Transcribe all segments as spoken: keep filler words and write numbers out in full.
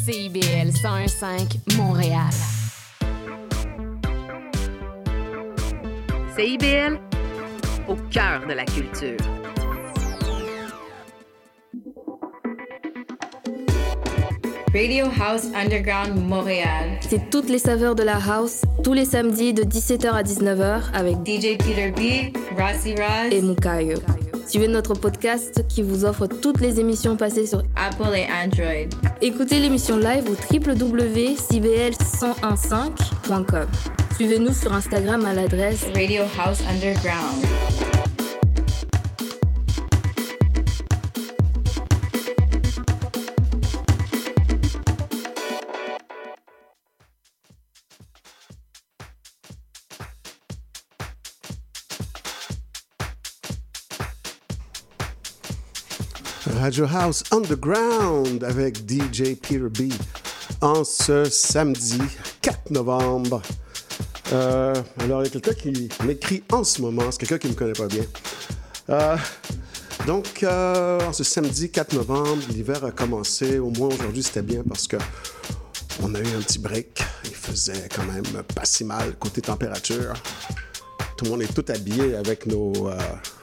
C I B L cent un virgule cinq Montréal. C I B L, au cœur de la culture. Radio House Underground Montréal. C'est toutes les saveurs de la house, tous les samedis de dix-sept heures à dix-neuf heures avec D J Peter B, Rossi Roz et Mukayo. Suivez notre podcast qui vous offre toutes les émissions passées sur Apple et Android. Écoutez l'émission live au w w w point c b l cent quinze point com. Suivez-nous sur Instagram à l'adresse Radio House Underground. Radio House Underground avec D J Peter B en ce samedi quatre novembre. Euh, alors, il y a quelqu'un qui m'écrit en ce moment, c'est quelqu'un qui ne me connaît pas bien. Euh, donc, euh, en ce samedi quatre novembre, l'hiver a commencé. Au moins aujourd'hui, c'était bien parce que on a eu un petit break. Il faisait quand même pas si mal côté température. Tout le monde est tout habillé avec nos... Euh,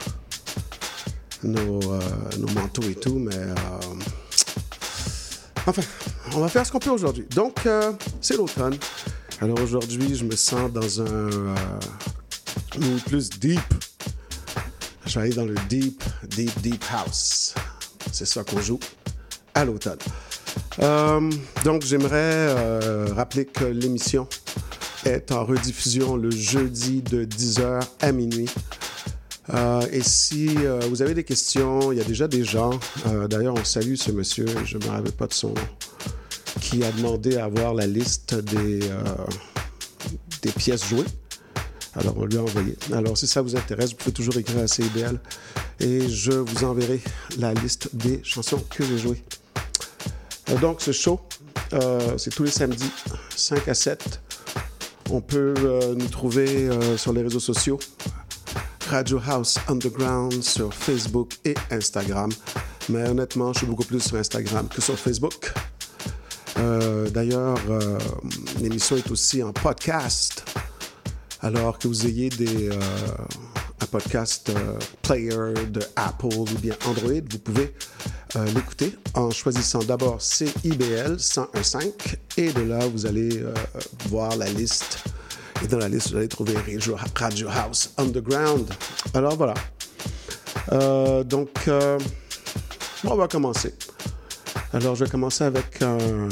Nos, euh, nos manteaux et tout, mais euh, enfin, on va faire ce qu'on peut aujourd'hui. Donc, euh, c'est l'automne. Alors aujourd'hui, je me sens dans un euh, mood plus deep. Je vais aller dans le deep, deep, deep house. C'est ça qu'on joue à l'automne. Euh, donc, j'aimerais euh, rappeler que l'émission est en rediffusion le jeudi de dix heures à minuit. Euh, et si euh, vous avez des questions, il y a déjà des gens, euh, d'ailleurs on salue ce monsieur, je ne me rappelle pas de son nom, qui a demandé à avoir la liste des, euh, des pièces jouées. Alors on lui a envoyé. Alors si ça vous intéresse, vous pouvez toujours écrire à C I B L et je vous enverrai la liste des chansons que j'ai jouées. Euh, donc ce show, euh, c'est tous les samedis, cinq à sept. On peut euh, nous trouver euh, sur les réseaux sociaux. Radio House Underground sur Facebook et Instagram. Mais honnêtement, je suis beaucoup plus sur Instagram que sur Facebook. Euh, d'ailleurs, euh, l'émission est aussi en podcast. Alors que vous ayez des, euh, un podcast euh, player de Apple ou bien Android, vous pouvez euh, l'écouter en choisissant d'abord C I B L cent un virgule cinq et de là, vous allez euh, voir la liste. Et dans la liste, vous allez trouver Radio House Underground. Alors voilà. Euh, donc, euh, on va commencer. Alors, je vais commencer avec un,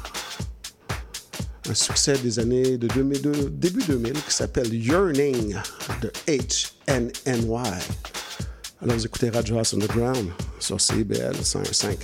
un succès des années de deux mille deux, début deux mille qui s'appelle Yearning de H N N Y. Alors, vous écoutez Radio House Underground sur C I B L cent un virgule cinq.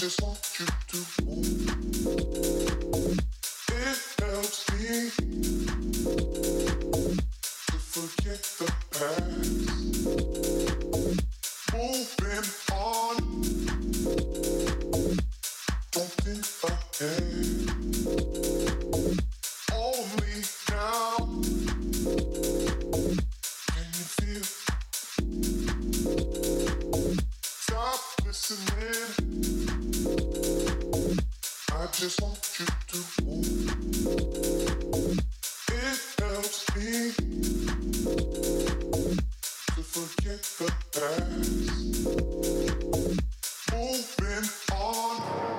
just want you to move. It helps me to forget the past. Moving on, don't think ahead. Only now can you feel. Stop listening. I just want you to move. It helps me to forget the past. Moving on.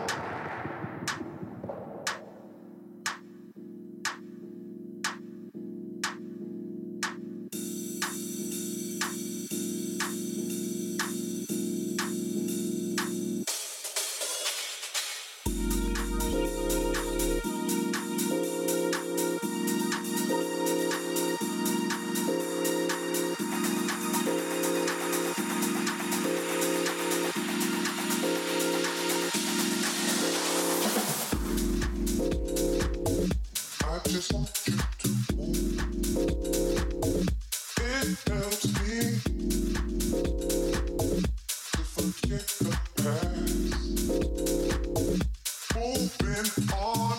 I just want you to move. It helps me to forget the past. Moving on.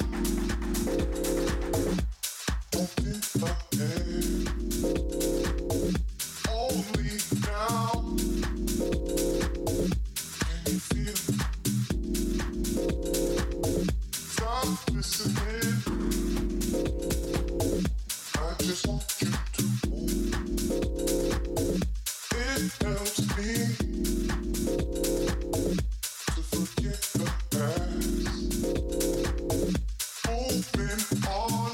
Don't think ahead. Only now can you feel. Stop listening. I just want you to move. It helps me to forget the past. Moving on.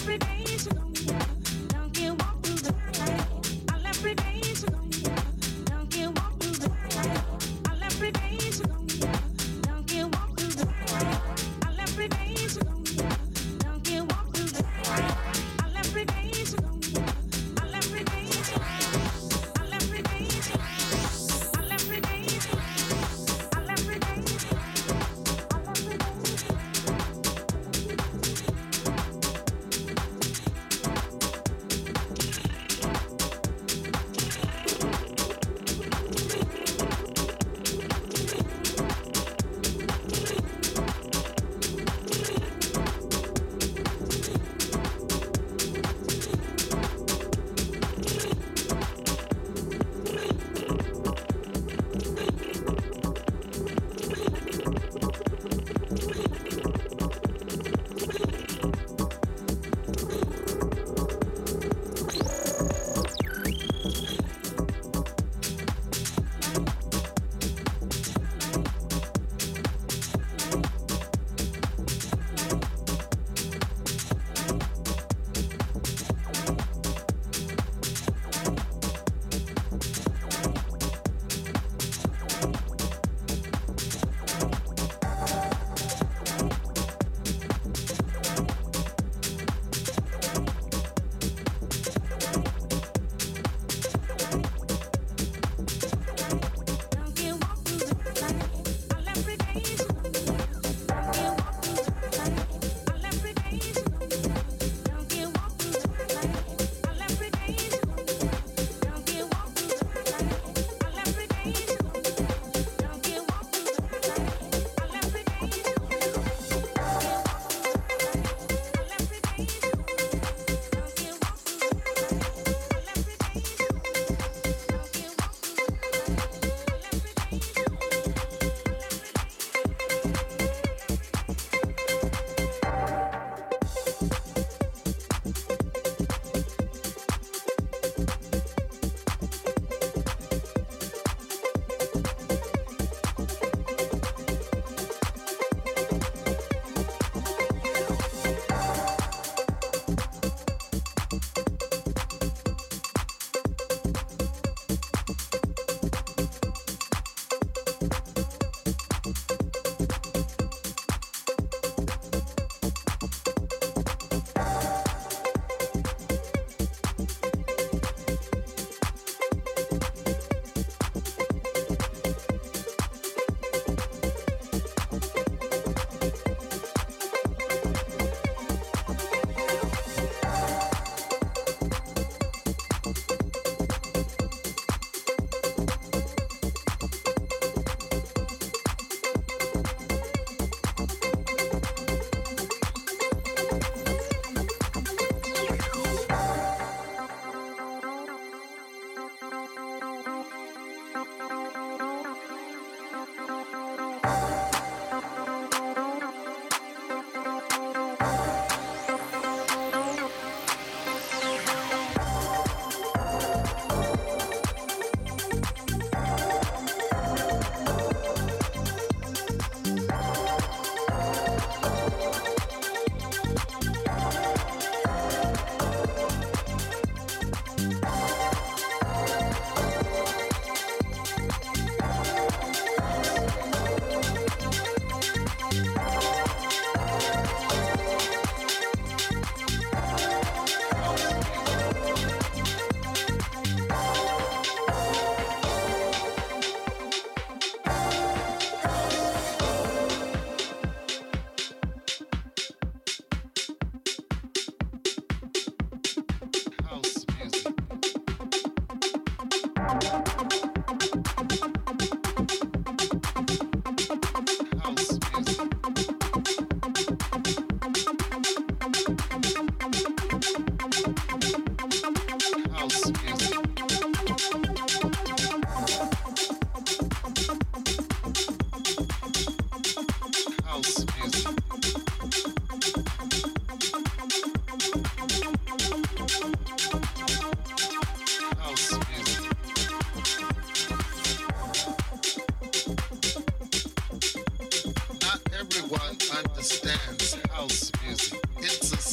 Not everyone understands house music. It's a spirit.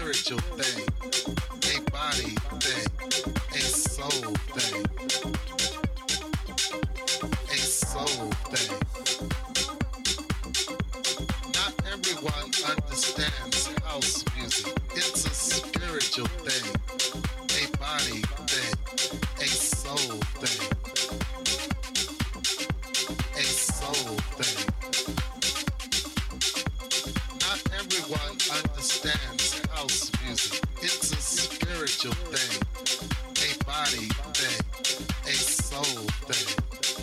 spiritual thing, a body thing, a soul thing, a soul thing. Not everyone understands house music. It's a spiritual thing, a body thing, a soul thing, a soul thing. Not everyone understands house music. It's a spiritual thing, a body thing, a soul thing,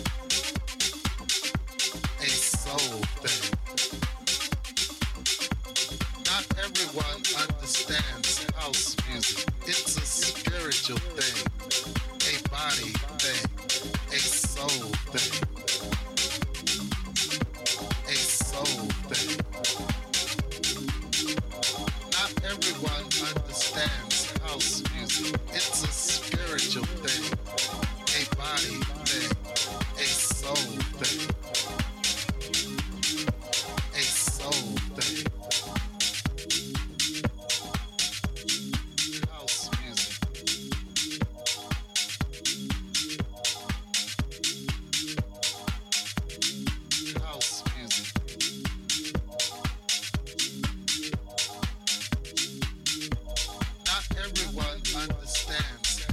a soul thing. Not everyone understands house music. It's a spiritual thing, a body thing, a soul thing, a soul thing. Not everyone understands house music. It's a spiritual thing, a body thing, a soul thing, a soul thing. House music. House music. Not everyone understands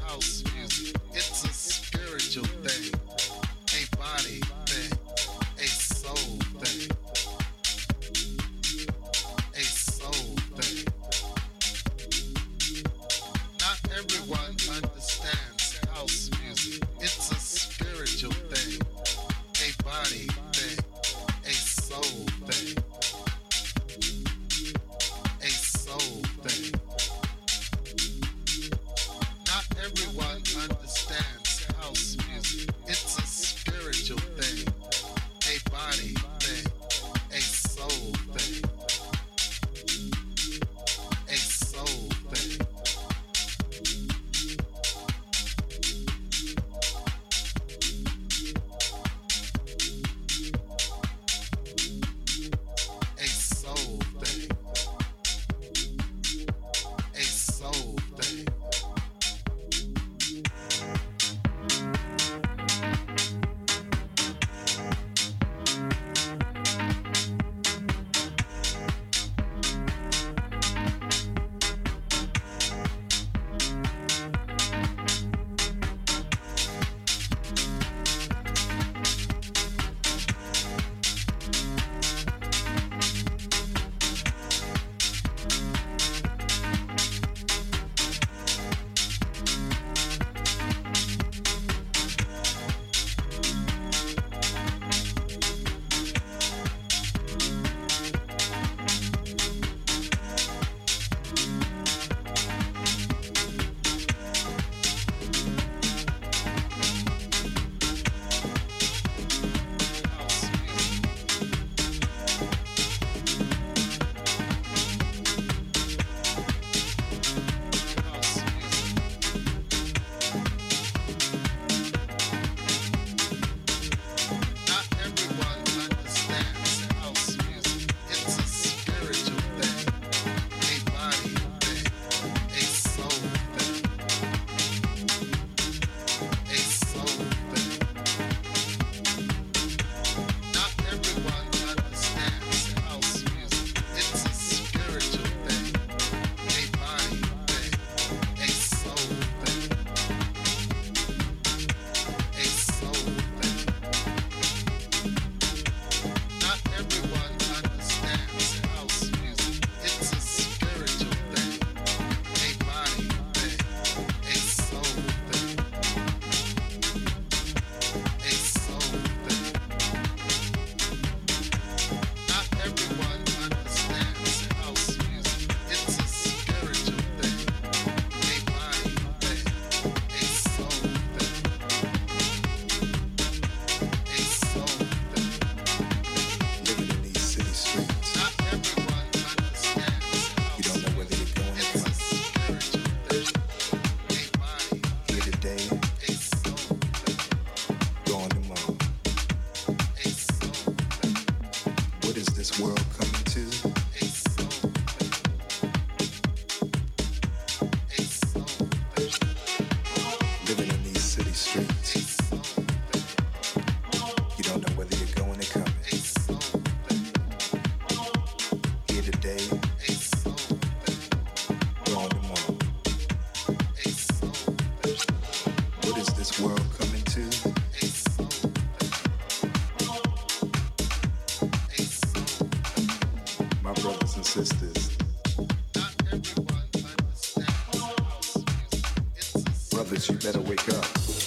Brothers, you better wake up.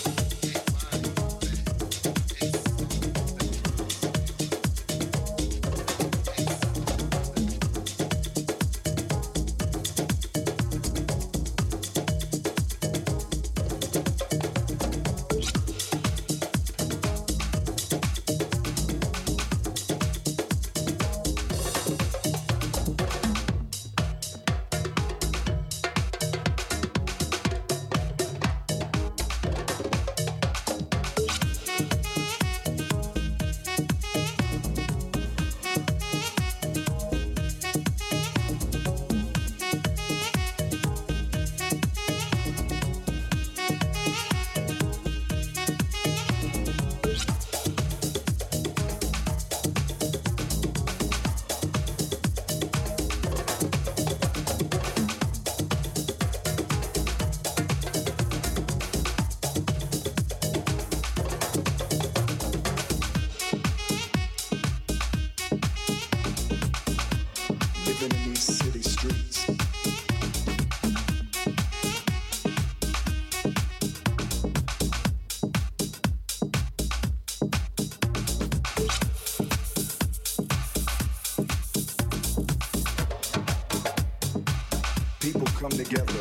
Come together.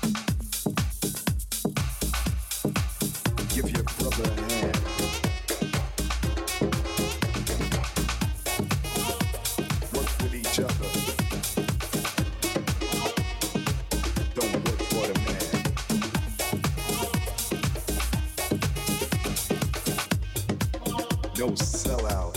Give your brother a hand. Work with each other. Don't work for the man. No sellout.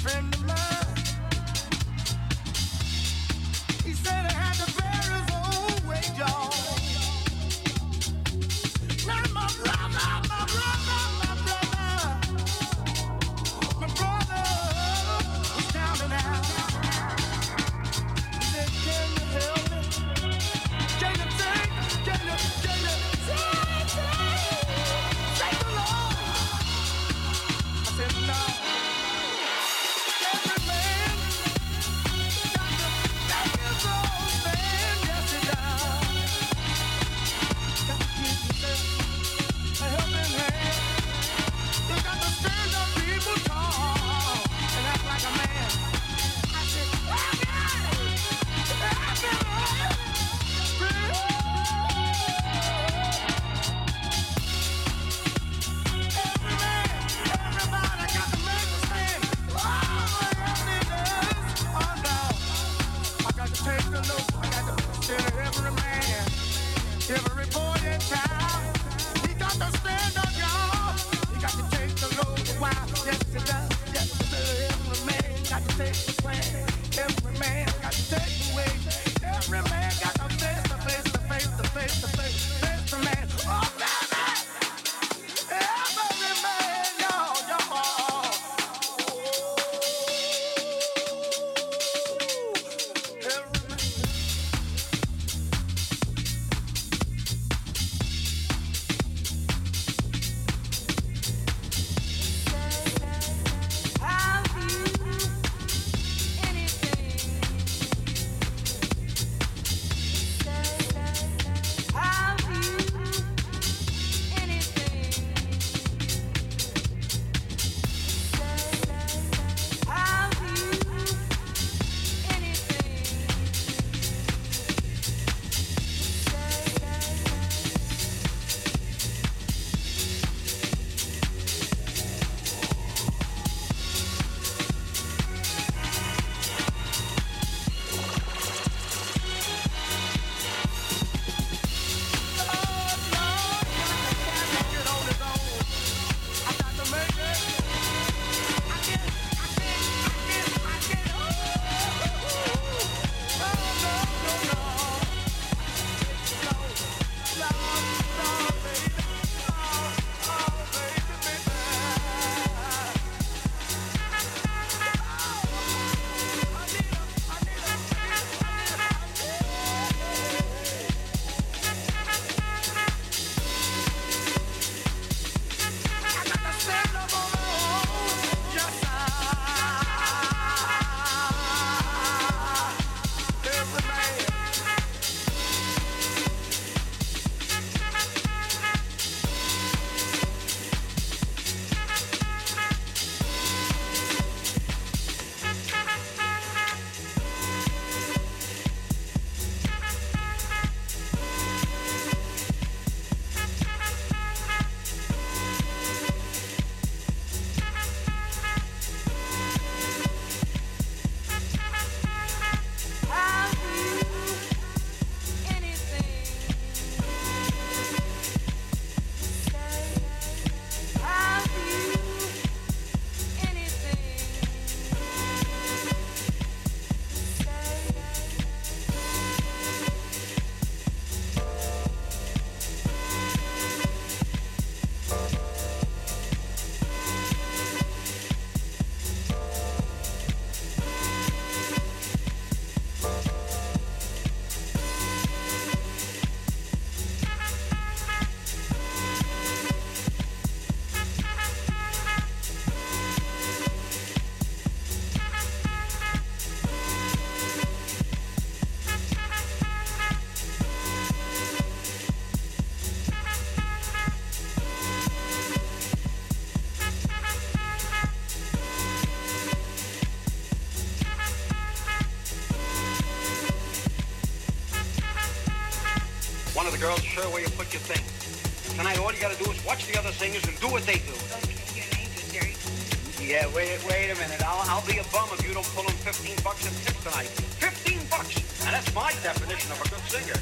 One of the girls is sure where you put your thing. Tonight, all you gotta do is watch the other singers and do what they do. Okay, your name is Jerry. Yeah, wait, wait a minute. I'll, I'll be a bum if you don't pull in fifteen bucks in tips tonight. fifteen bucks! Now, that's my definition of a good singer.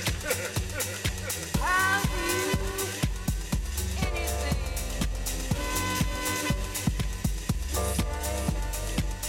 Have you anything to say?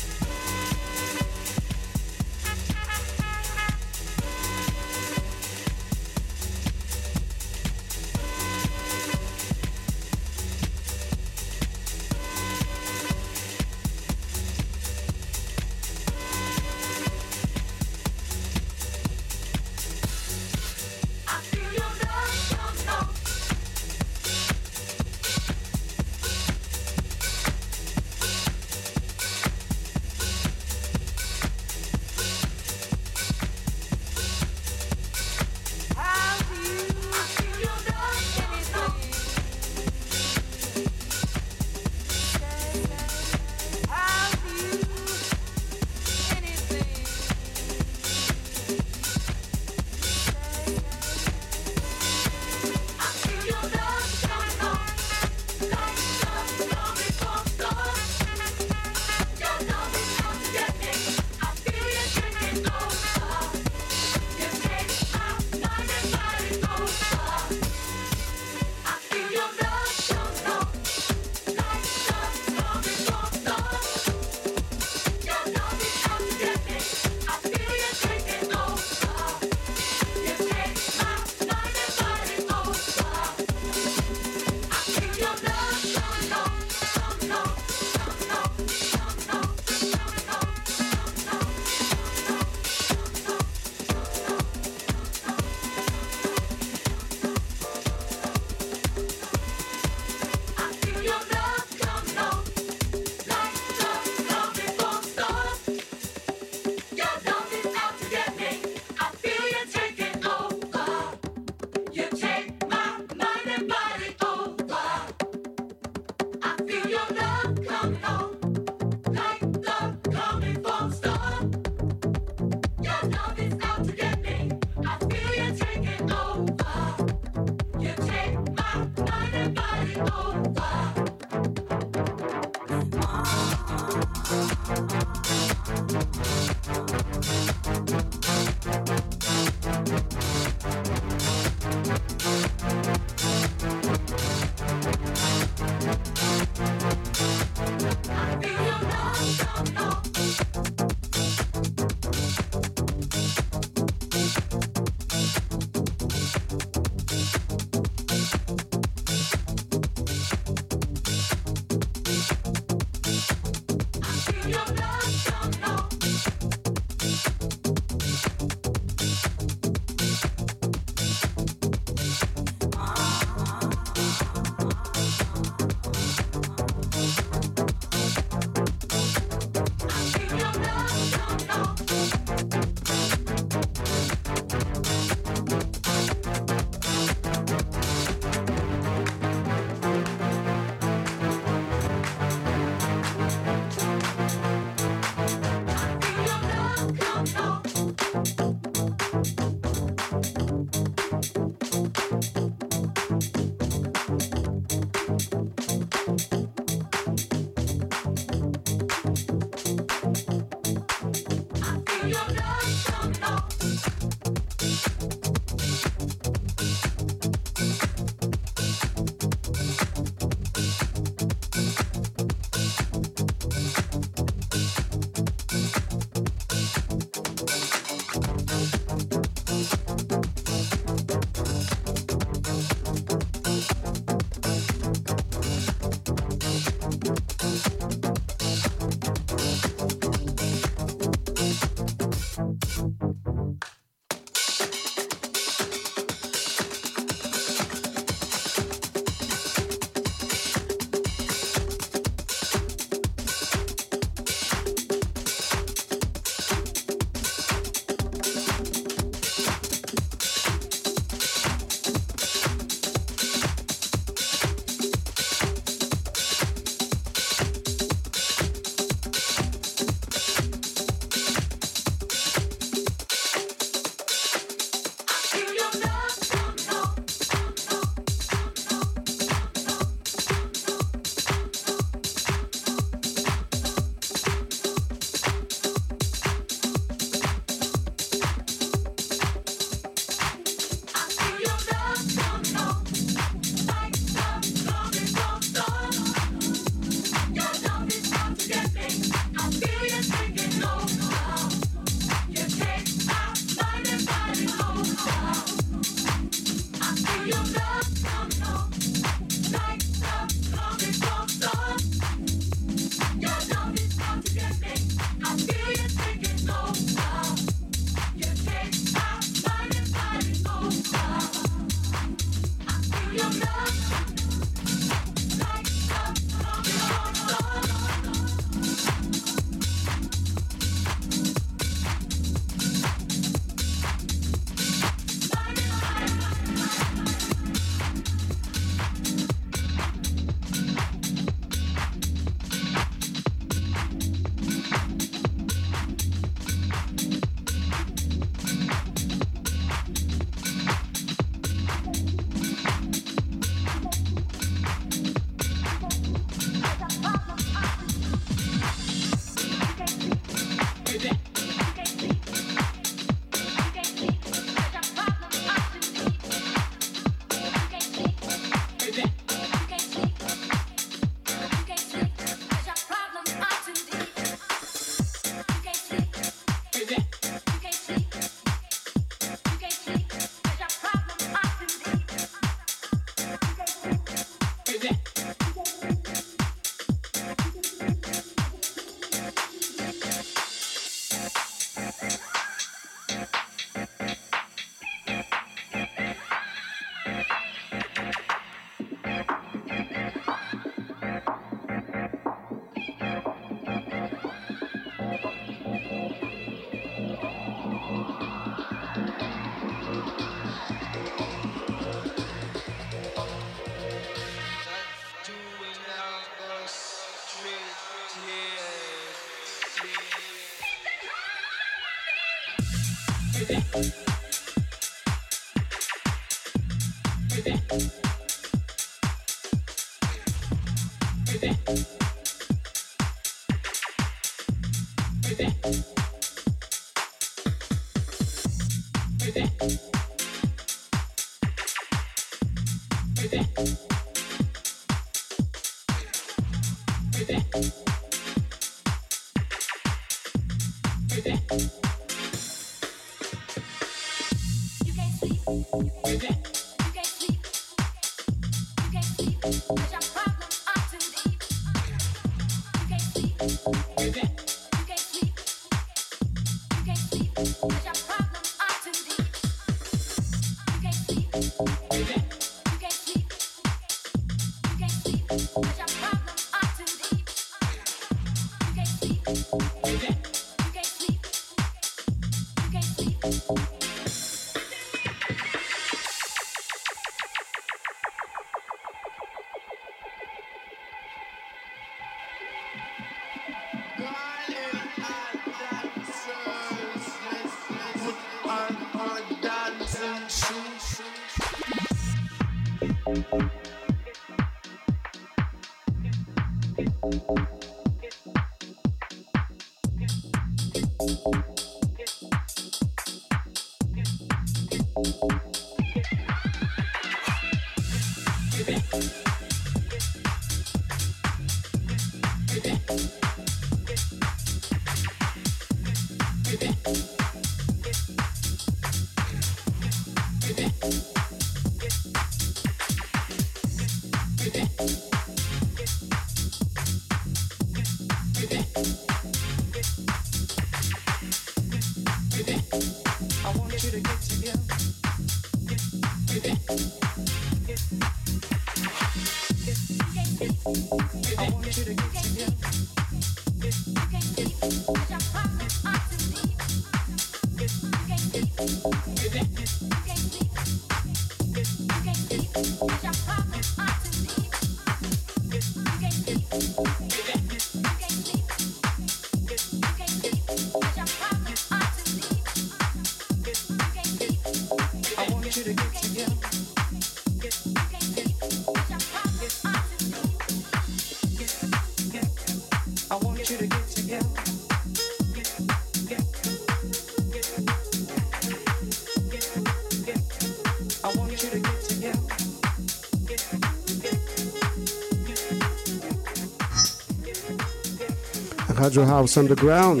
Radio House Underground.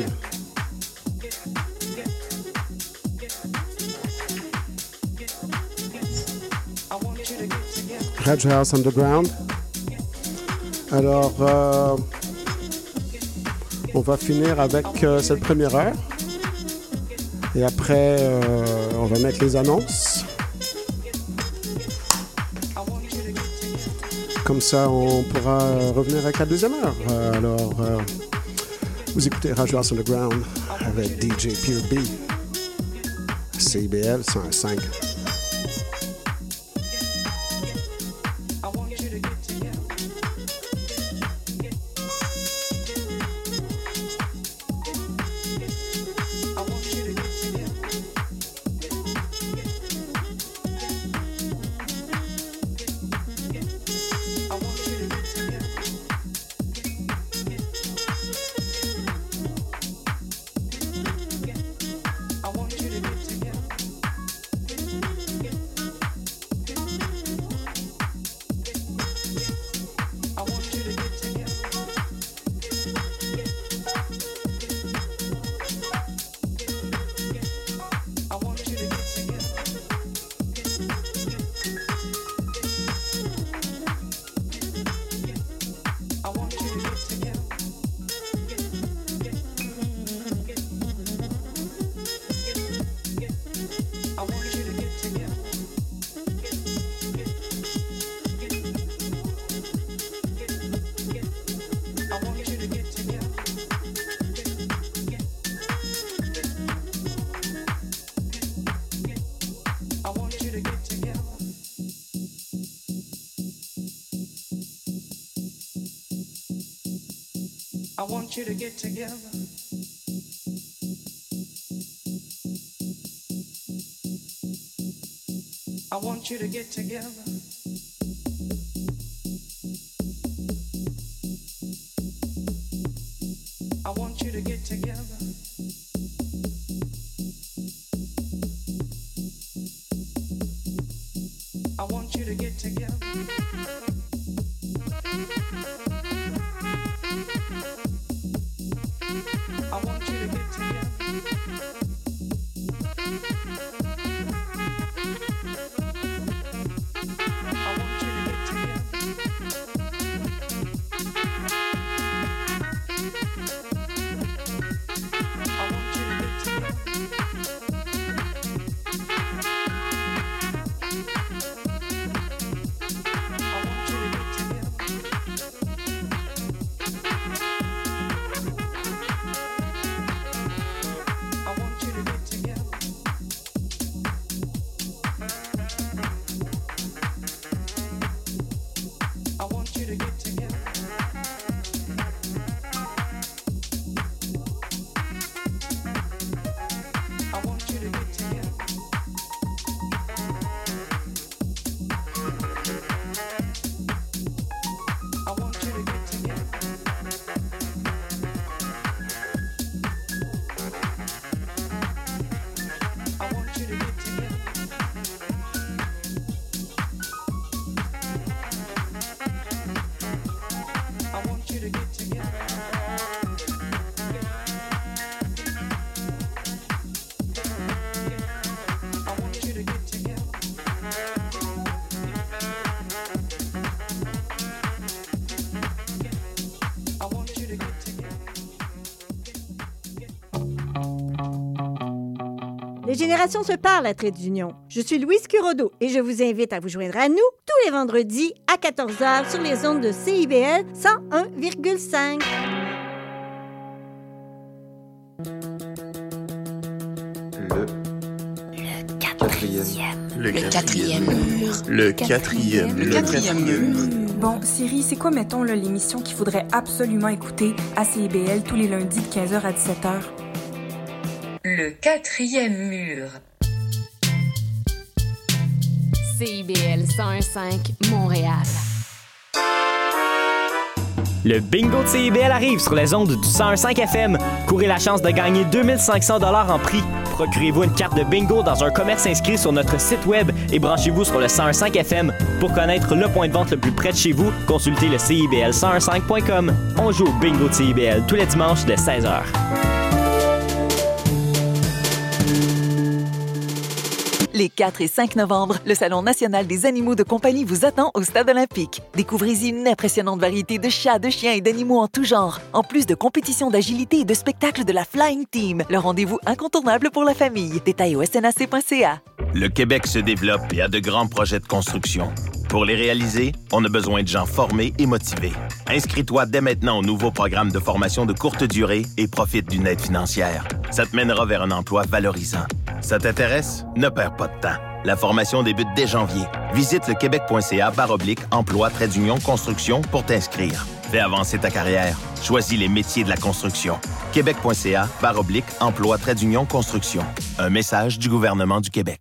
Radio House Underground. Alors, euh, on va finir avec euh, cette première heure. Et après, euh, on va mettre les annonces. comme ça, on pourra revenir avec la deuxième heure. Euh, alors, euh, vous écoutez Radio House Underground avec D J Pure B, C I B L cent un cinq. I want you to get together. I want you to get together. I want you to get together. I want you to get together. I want you to get together. Les générations se parlent à Trait d'Union. Je suis Louise Curodo et je vous invite à vous joindre à nous tous les vendredis à quatorze heures sur les ondes de C I B L cent un virgule cinq. Le quatrième. Le quatrième mur. Le quatrième. Le quatrième mur. Bon, Siri, c'est quoi, mettons, là, l'émission qu'il faudrait absolument écouter à C I B L tous les lundis de quinze heures à dix-sept heures? Le quatrième mur. C I B L cent un virgule cinq, Montréal. Le bingo de C I B L arrive sur les ondes du cent un virgule cinq F M. Courez la chance de gagner deux mille cinq cents dollars en prix. Procurez-vous une carte de bingo dans un commerce inscrit sur notre site web et branchez-vous sur le cent un virgule cinq F M. Pour connaître le point de vente le plus près de chez vous, consultez le C I B L cent un virgule cinq point com. On joue au bingo de C I B L tous les dimanches dès seize heures. Les quatre et cinq novembre, le Salon national des animaux de compagnie vous attend au Stade olympique. Découvrez-y une impressionnante variété de chats, de chiens et d'animaux en tout genre. En plus de compétitions d'agilité et de spectacles de la Flying Team, le rendez-vous incontournable pour la famille. Détails au S N A C point C A. Le Québec se développe et a de grands projets de construction. Pour les réaliser, on a besoin de gens formés et motivés. Inscris-toi dès maintenant au nouveau programme de formation de courte durée et profite d'une aide financière. Ça te mènera vers un emploi valorisant. Ça t'intéresse? Ne perds pas de temps. La formation débute dès janvier. Visite le québec.ca barre oblique emploi trait d'union construction pour t'inscrire. Fais avancer ta carrière. Choisis les métiers de la construction. Québec.ca barre oblique emploi trait d'union construction. Un message du gouvernement du Québec.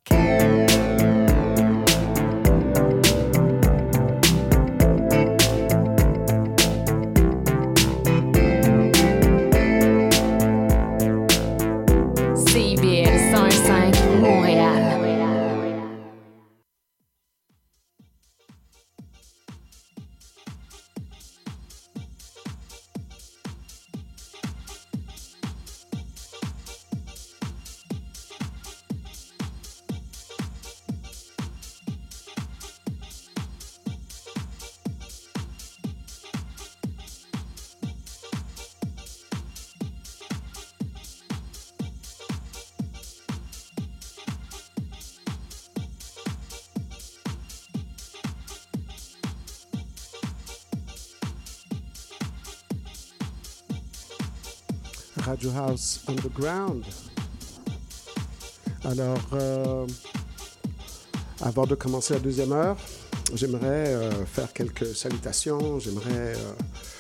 Radio House Underground. Alors, euh, avant de commencer la deuxième heure, j'aimerais euh, faire quelques salutations. J'aimerais euh,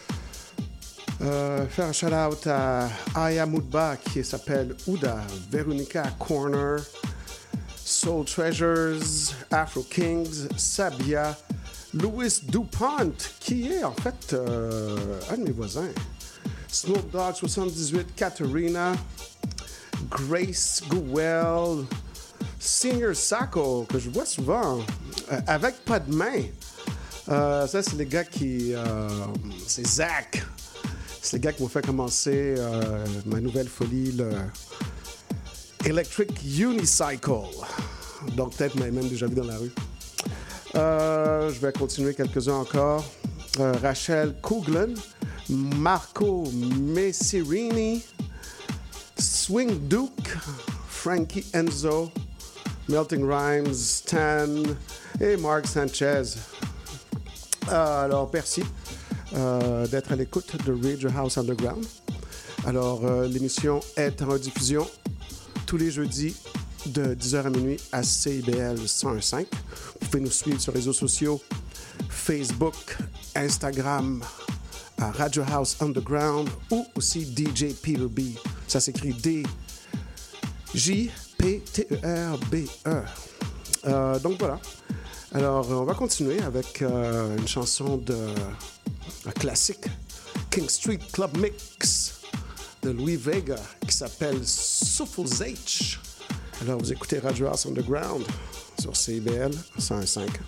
euh, faire un shout-out à Aya Moudba qui s'appelle Ouda, Veronica Corner, Soul Treasures, Afro Kings, Sabia, Louis DuPont, qui est en fait euh, un de mes voisins. Snoop Dogg soixante-dix-huit, Katerina, Grace Gowell, Senior Sacco, que je vois souvent, euh, avec pas de main. Euh, ça, c'est les gars qui... Euh, c'est Zach. C'est les gars qui m'ont fait commencer euh, ma nouvelle folie, le Electric Unicycle. Donc, peut-être vous m'avez même déjà vu dans la rue. Euh, je vais continuer quelques-uns encore. Euh, Rachel Coughlin, Marco Messirini, Swing Duke, Frankie Enzo, Melting Rhymes, Stan et Mark Sanchez. Euh, alors, merci euh, d'être à l'écoute de Radio House Underground. Alors, euh, l'émission est en rediffusion tous les jeudis de dix heures à minuit à C I B L cent un virgule cinq. Vous pouvez nous suivre sur les réseaux sociaux, Facebook, Instagram, à Radio House Underground ou aussi D J Peter B. Ça s'écrit D J P T E R B E. Euh, donc voilà. Alors, on va continuer avec euh, une chanson de un classique, King Street Club Mix de Louis Vega qui s'appelle Soulful H. Alors, vous écoutez Radio House Underground sur C I B L cent un virgule cinq.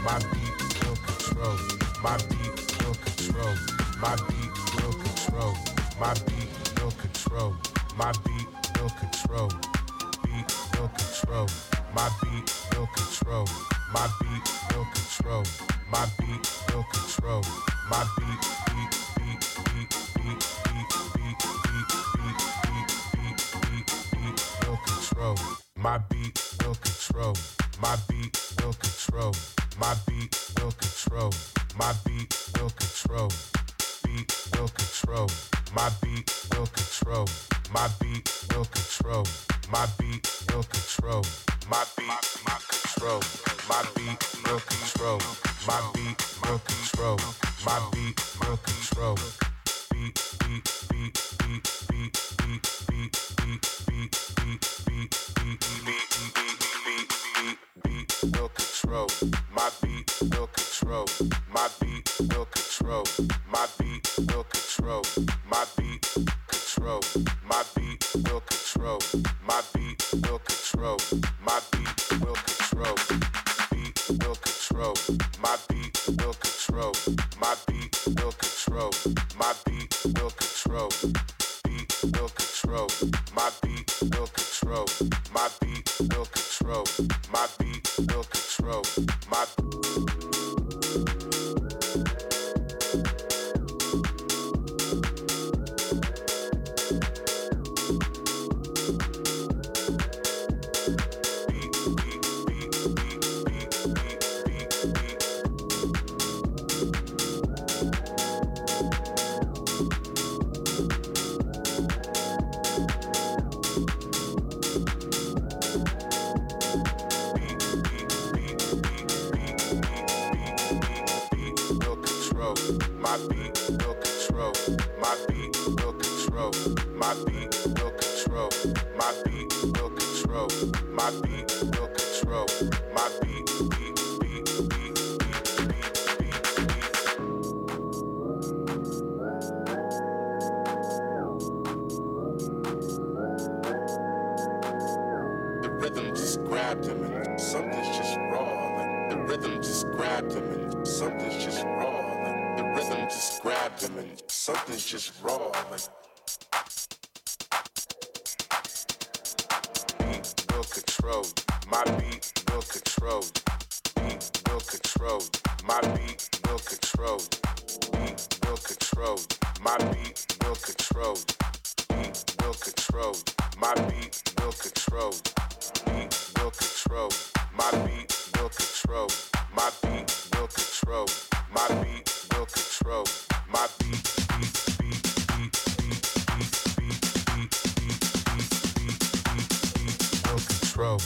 My beat will control. My beat will control. My beat will control. My beat will control. My beat will control. Beat will control. My beat will control. My beat will control. My beat will control. My beat beat beat beat beat beat beat beat beat beat beat beat beat will control. My beat will control. My beat will control. My beat will control. My beat will control. Beat will control. My beat will control. My beat will control. My beat will control. My beat my control. My beat will control. My beat will control. My beat will control. Beat beat beat beat beat beat beat beat beat beat beat beat beat beat beat beat will control. My beat will control. My beat will control. My beat will control. My beat control. My beat will control. My beat will control. My beat will control. Beat will control. My beat will control. My beat will control. My beat will control. Beat will control. My beat will control. My beat will control. My beat will control. My My beat will control. My beat will control. My beat will control. My beat will control. My beat will control. My beat beat beat beat beat beat beat The rhythm just grabbed him and something's just raw. Like the rhythm just grabbed him and something's just raw. Like the rhythm just grabbed him and something's just raw. Like beat will control. My beat will control. Beat will control. My beat will control. Beat will control. My beat will control. Beat will control. My beat will control. Beat will control. My beat will control. My beat will control. My beat will control. My beat beat beat beat beat beat beat beat beat beat beat beat will control.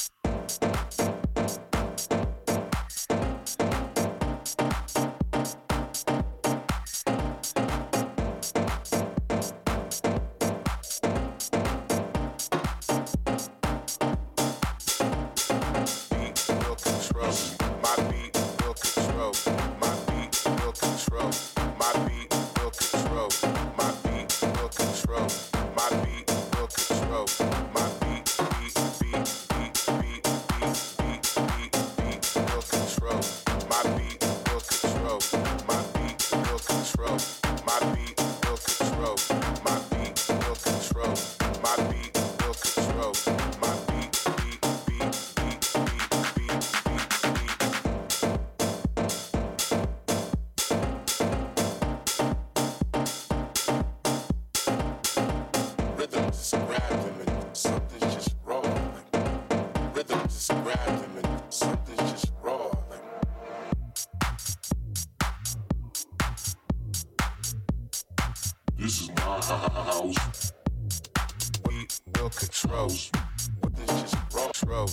This is my house. We will control. This is control.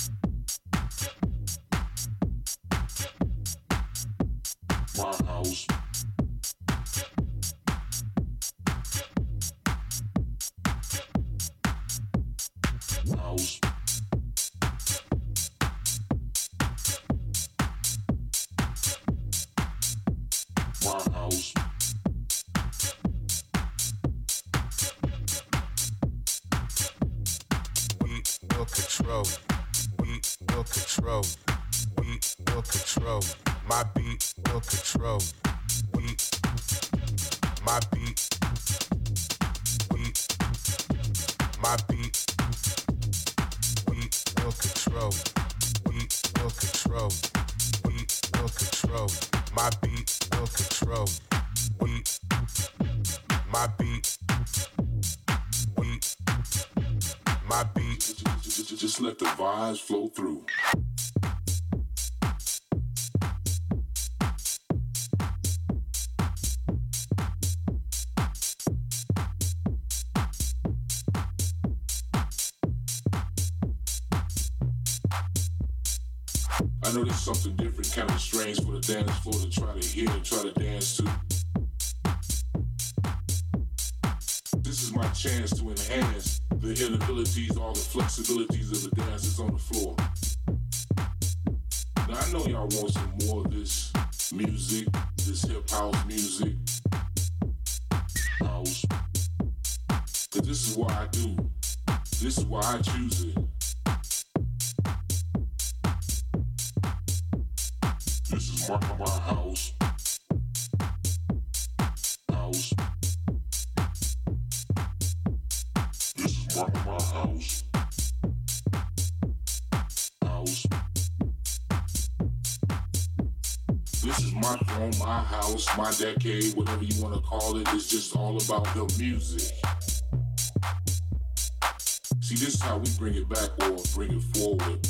My house. House. My house. We will control. We will control. We will control. My beat will control. Beat. My beat. Beat. My beat. Beat will control. Beat will control. Beat will control. My beat will control. Beat. My beat. Beat. My beat. Just, just let the vibes flow through. I know there's something different, kind of strange for the dance floor to try to hear and try to dance to. This is my chance to enhance the inabilities, all the flexibilities of the dancers on the floor. Now I know y'all want some more of this music, this hip house music, house. Cause this is what I do. This is why I choose it. This is my, my house. House. This is my, my house. House. This is my throne, my house, my decade, whatever you want to call it. It's just all about the music. See, this is how we bring it back or bring it forward.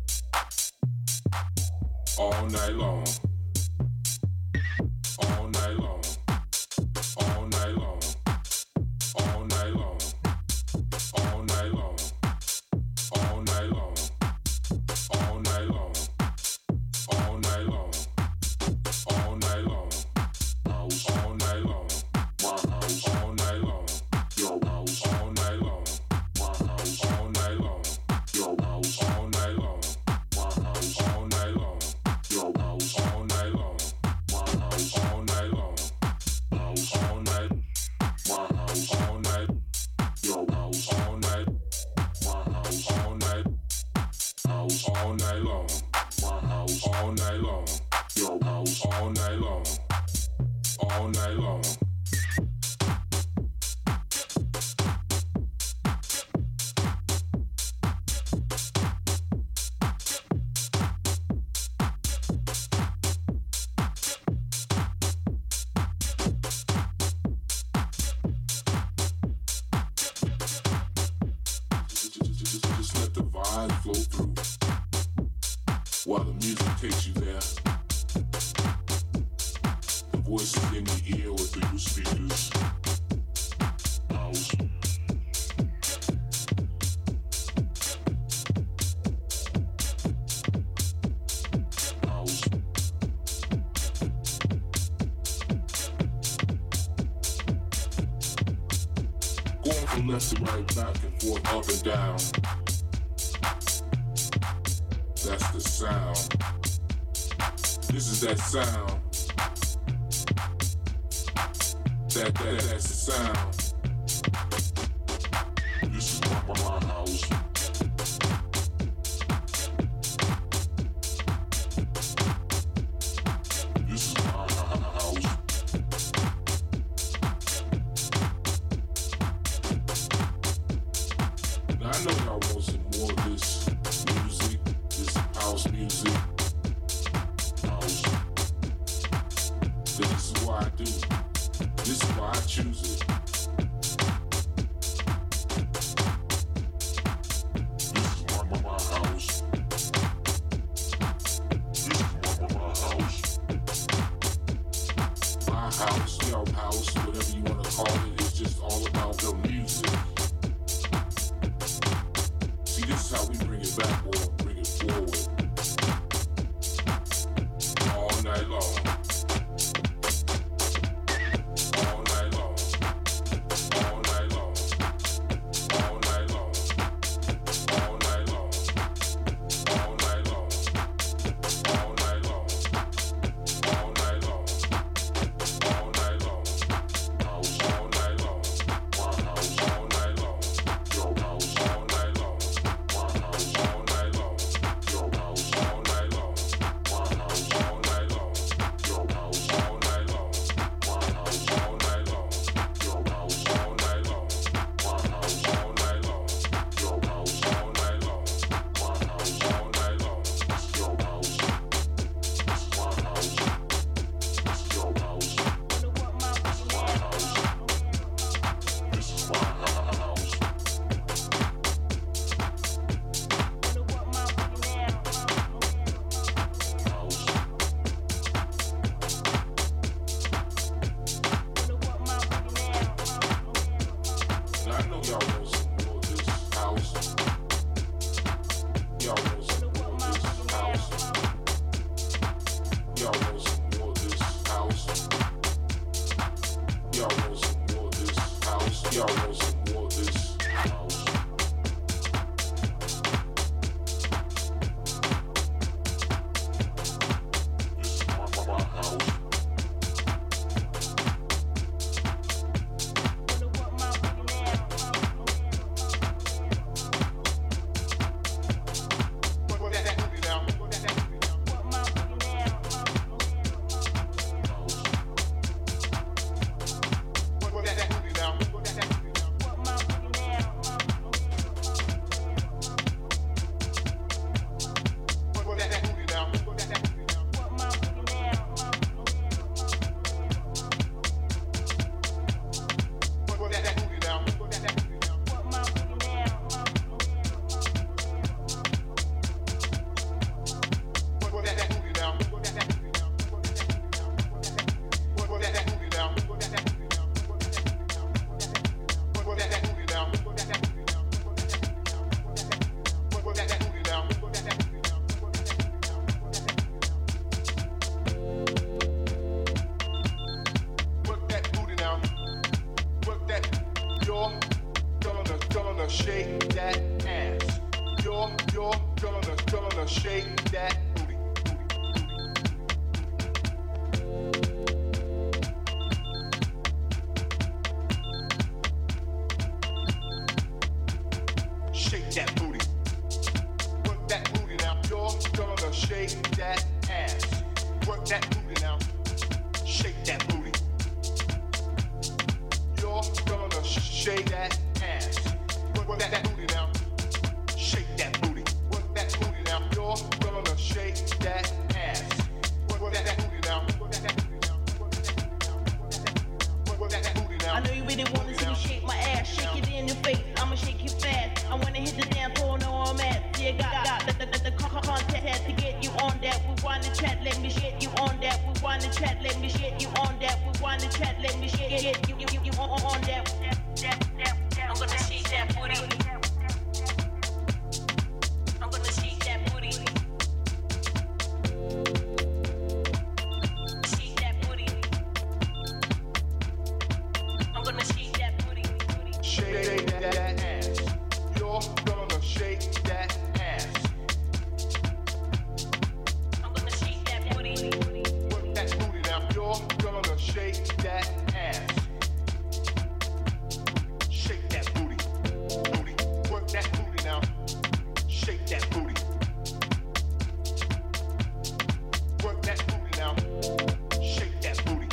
All night long. All night long. All night long. All night long. All night long. All night long. All night long. All night long. All night long. House all night long. My house all night long. Your house all night long. My house all night long. Your house all night long. My house all night long. Your house all night long. My house all night long. House all night. My house all night. Your house all night. My house all night. House all night long. My house all night long. Your house all night long. All night long. Just let the vibe flow through while the music takes you there. The voices in your ear or through your speakers. House. House. Going from left to right, back and forth, up and down. That's the sound. This is that sound. That, that, that's the sound. This is my, my, my house. This is my, my house. Now I know y'all want some more of this music, this house music, house. This is what I do. This is why I choose it. This is my, my, my house. This is my, my, my house. My house, your house, whatever you want to call it, it's just all about the music. See, this is how we bring it back or bring it forward. All night long. Your house gonna shake that ass. You're, you're gonna, gonna shake that booty. Shake that booty. Work that booty now. You're gonna shake that ass. Work that booty now. Shake that booty. You're gonna sh- shake that ass. Work, work that booty now. Shake that booty. Work that booty now. You're gonna shake that ass. Work, work that booty now. Work that booty now. Work that booty now. I know you really wanna see me shake my ass, shake it in your face. I'ma shake you fast. I wanna hit the damn floor, know I'm at. Yeah, got got the the, the, the contact to get you on that. We wanna chat, let me shit you on that. We wanna chat, let me shit you on that. We wanna chat, let me shit get you you you, you on, on that. I'm gonna shake that booty. I'm gonna shake that booty. Shake that booty. I'm gonna shake that booty. Shake that ass. You're gonna shake that ass. I'm gonna shake that booty. Work that booty now. You're gonna shake that ass. Shake that booty. Booty. Work that booty now. Shake that booty. Work that booty now. Shake that booty.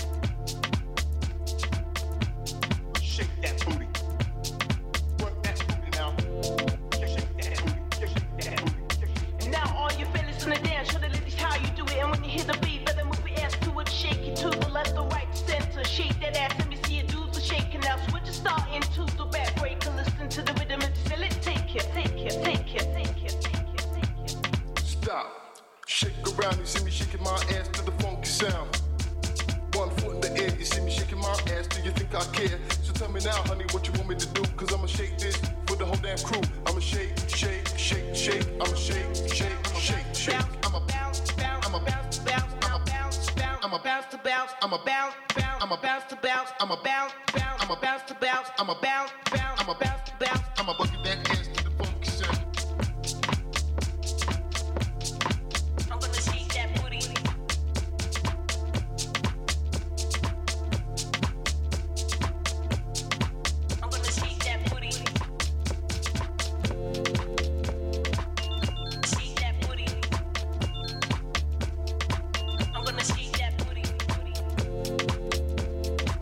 Shake that booty. Work that booty now. Shake that booty. Shake that booty. And now all you fellas in the dance, show the ladies how you do it. And when you hear the beat, better move your ass to it. Shake it to the left, the right, center. Shake that ass, let me see you do the shaking. Now switch your start into the back break. And listen to the rhythm and feel it. Take it, take it, take it, take it, take it, take it. Stop. Shake around, you see me shaking my ass to the funky sound. One foot in the air, you see me shaking my ass. Do you think I care? So tell me now, honey, what you want me to do? Cause I'ma shake this for the whole damn crew. I'ma shake, shake, shake, shake. I'ma shake, shake, shake, shake. I'ma bounce, bounce, I'ma bounce, bounce. I'ma bounce, bounce. I'ma bounce to bounce. I'ma bounce, bounce. I'ma bounce to bounce. I'ma bounce, bounce. I'ma bounce to bounce. I'ma bounce, bounce. I'ma bounce to bounce. I'ma bucket that ass to the funky sound. I'm gonna shake that booty. I'm gonna shake that booty. Shake that booty. I'm gonna shake that booty.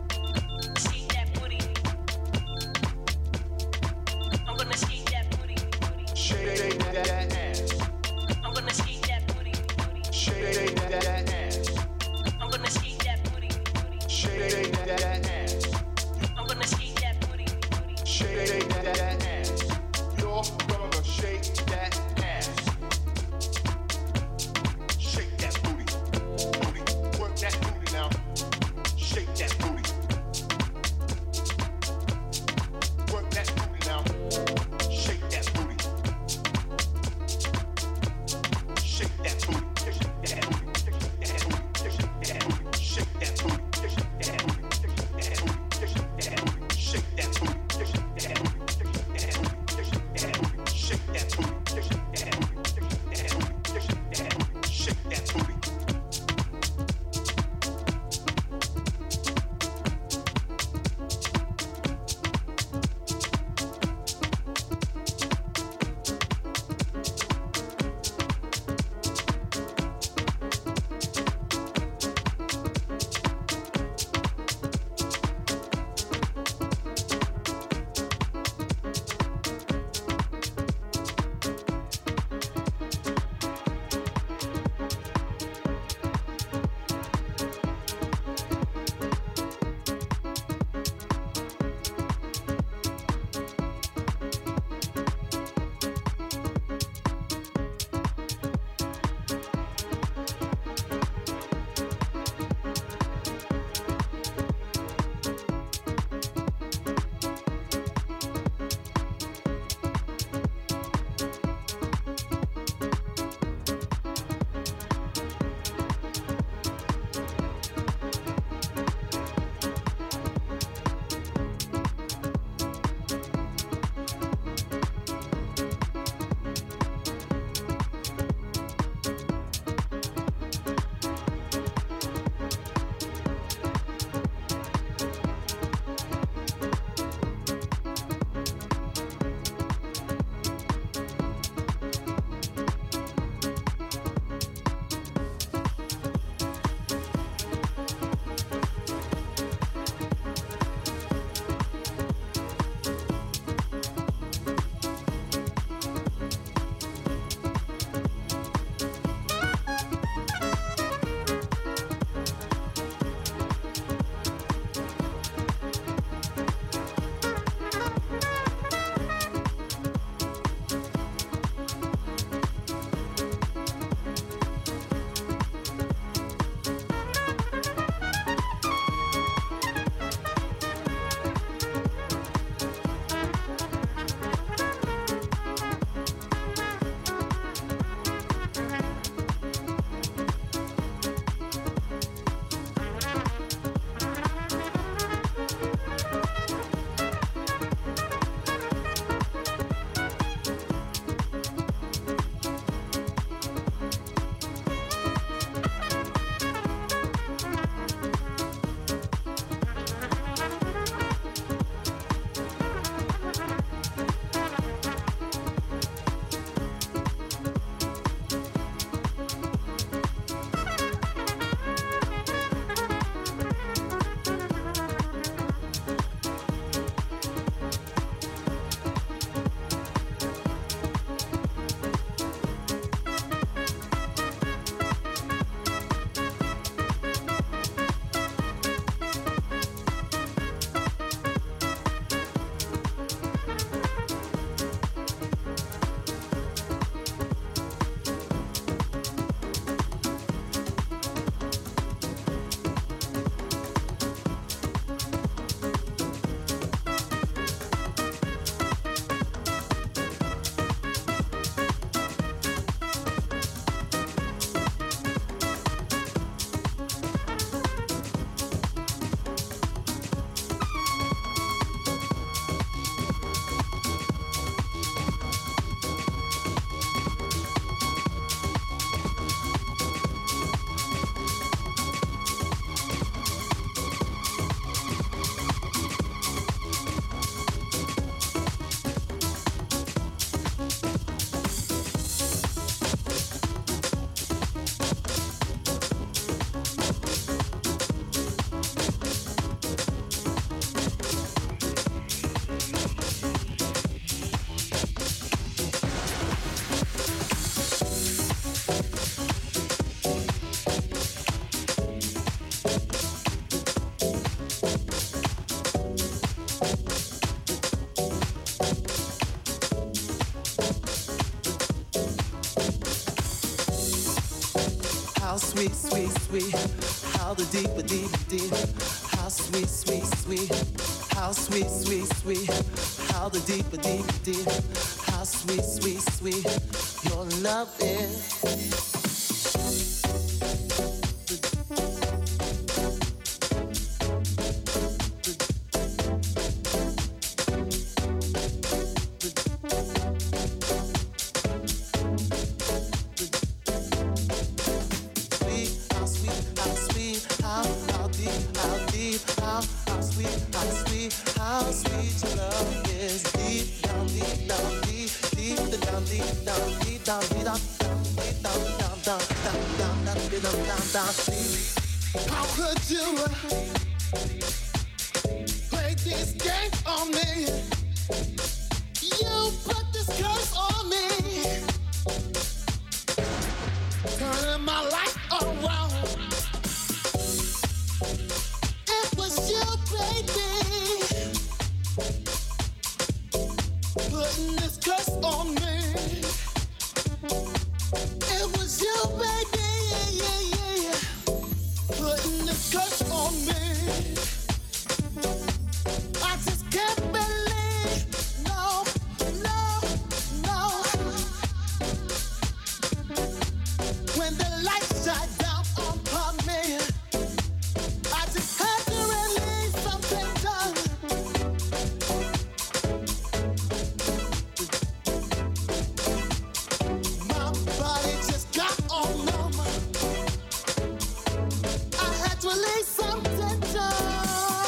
how sweet, sweet, sweet, how the deeper, deep, deep, how sweet, sweet, sweet, how sweet, sweet, sweet, how the deeper, deep, deep, how sweet, sweet, sweet, your love is. How could you play this game on me? You put this curse on me, turning my life around. It was you, baby, putting this curse on me. It was you, baby, yeah, yeah, yeah, putting this curse on me. I just can't believe, no, no, no. When the lights shine down upon me, I just had to release something done. My body just got all numb. I had to release something done.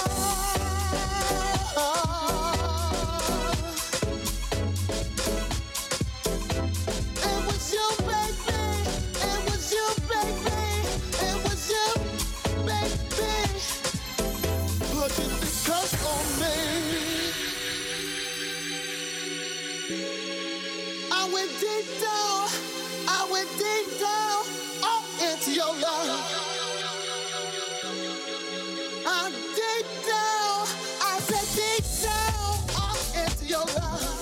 It was you, baby. It was you, baby. It was you, baby. Putting this curse on me. I went deep down. I went deep down. Oh, into your love. I'm deep down. I said deep down. Oh, into your love.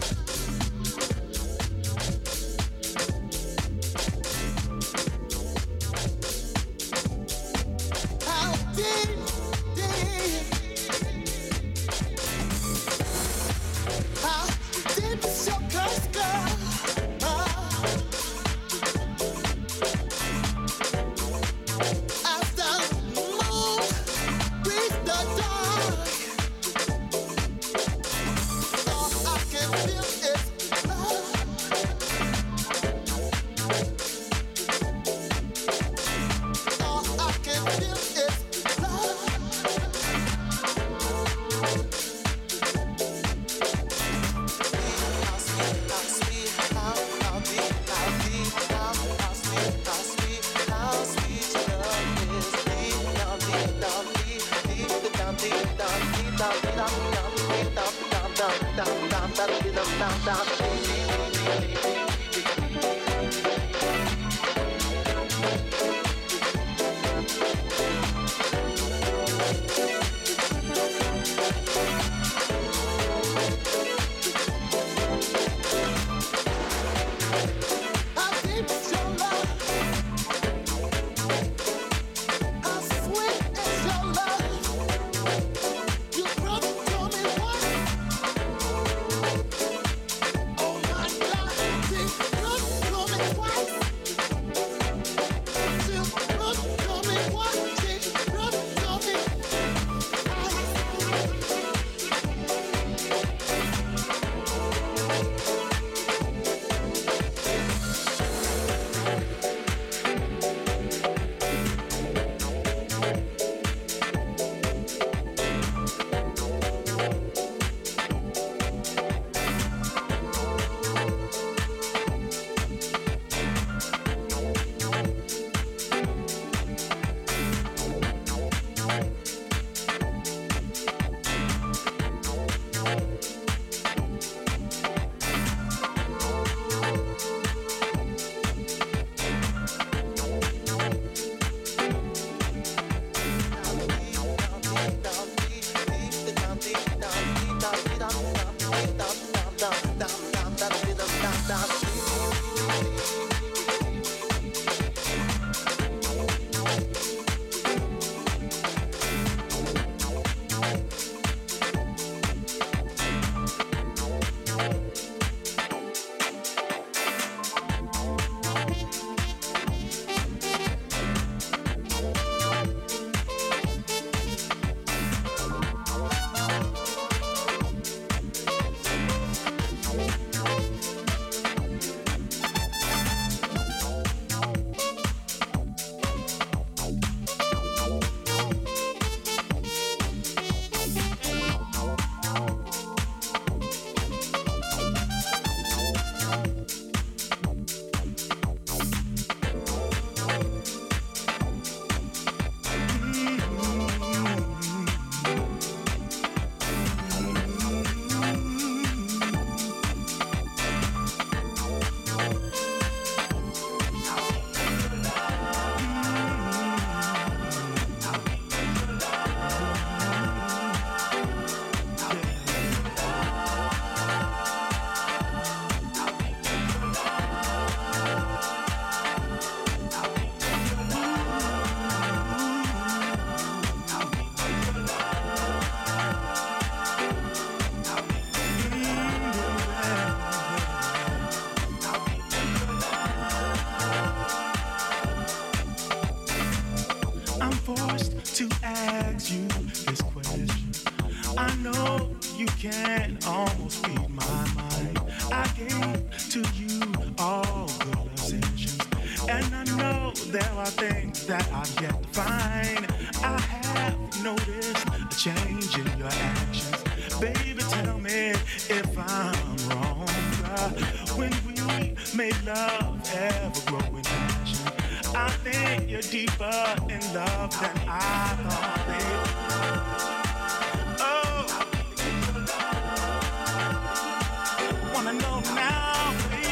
How deep, deep, how deep is your curse, girl? Ah. After the moon reach the dark, all I can feel is love. All I can feel is love. How sweet, how sweet, how, how deep, how deep, how, how sweet, how sweet, how sweet your love is. Deep down, deep down, deep, deep down, deep down, deep down, deep down, deep down, down, down, down, down, down, deep down, down, down, deep, deep, deep, deep, deep, deep. How deep is your love? How sweet is your love? You brother told me once. Oh my God, you brother told me twice. You brother told me once. You brother told me I gave to you all good possessions, and I know there are things that I've yet to find. I have noticed a change in your actions. Baby, tell me if I'm wrong. Uh, when we made love ever grow in passion, I think you're deeper in love than I thought, baby. Oh, wanna know now, baby.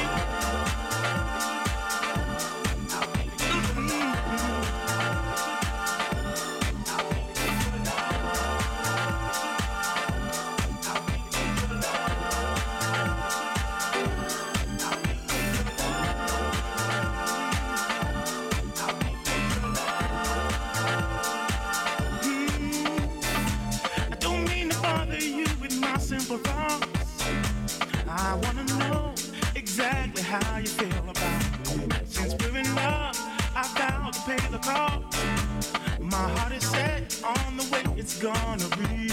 I wanna know exactly how you feel about me. Since we're in love, I vow to pay the cost. My heart is set on the way it's gonna be.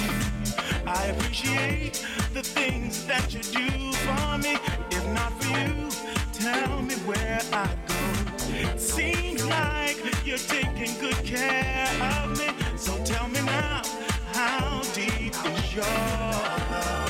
I appreciate the things that you do for me. If not for you, tell me where I go. It seems like you're taking good care of me. So tell me now, how deep is your love?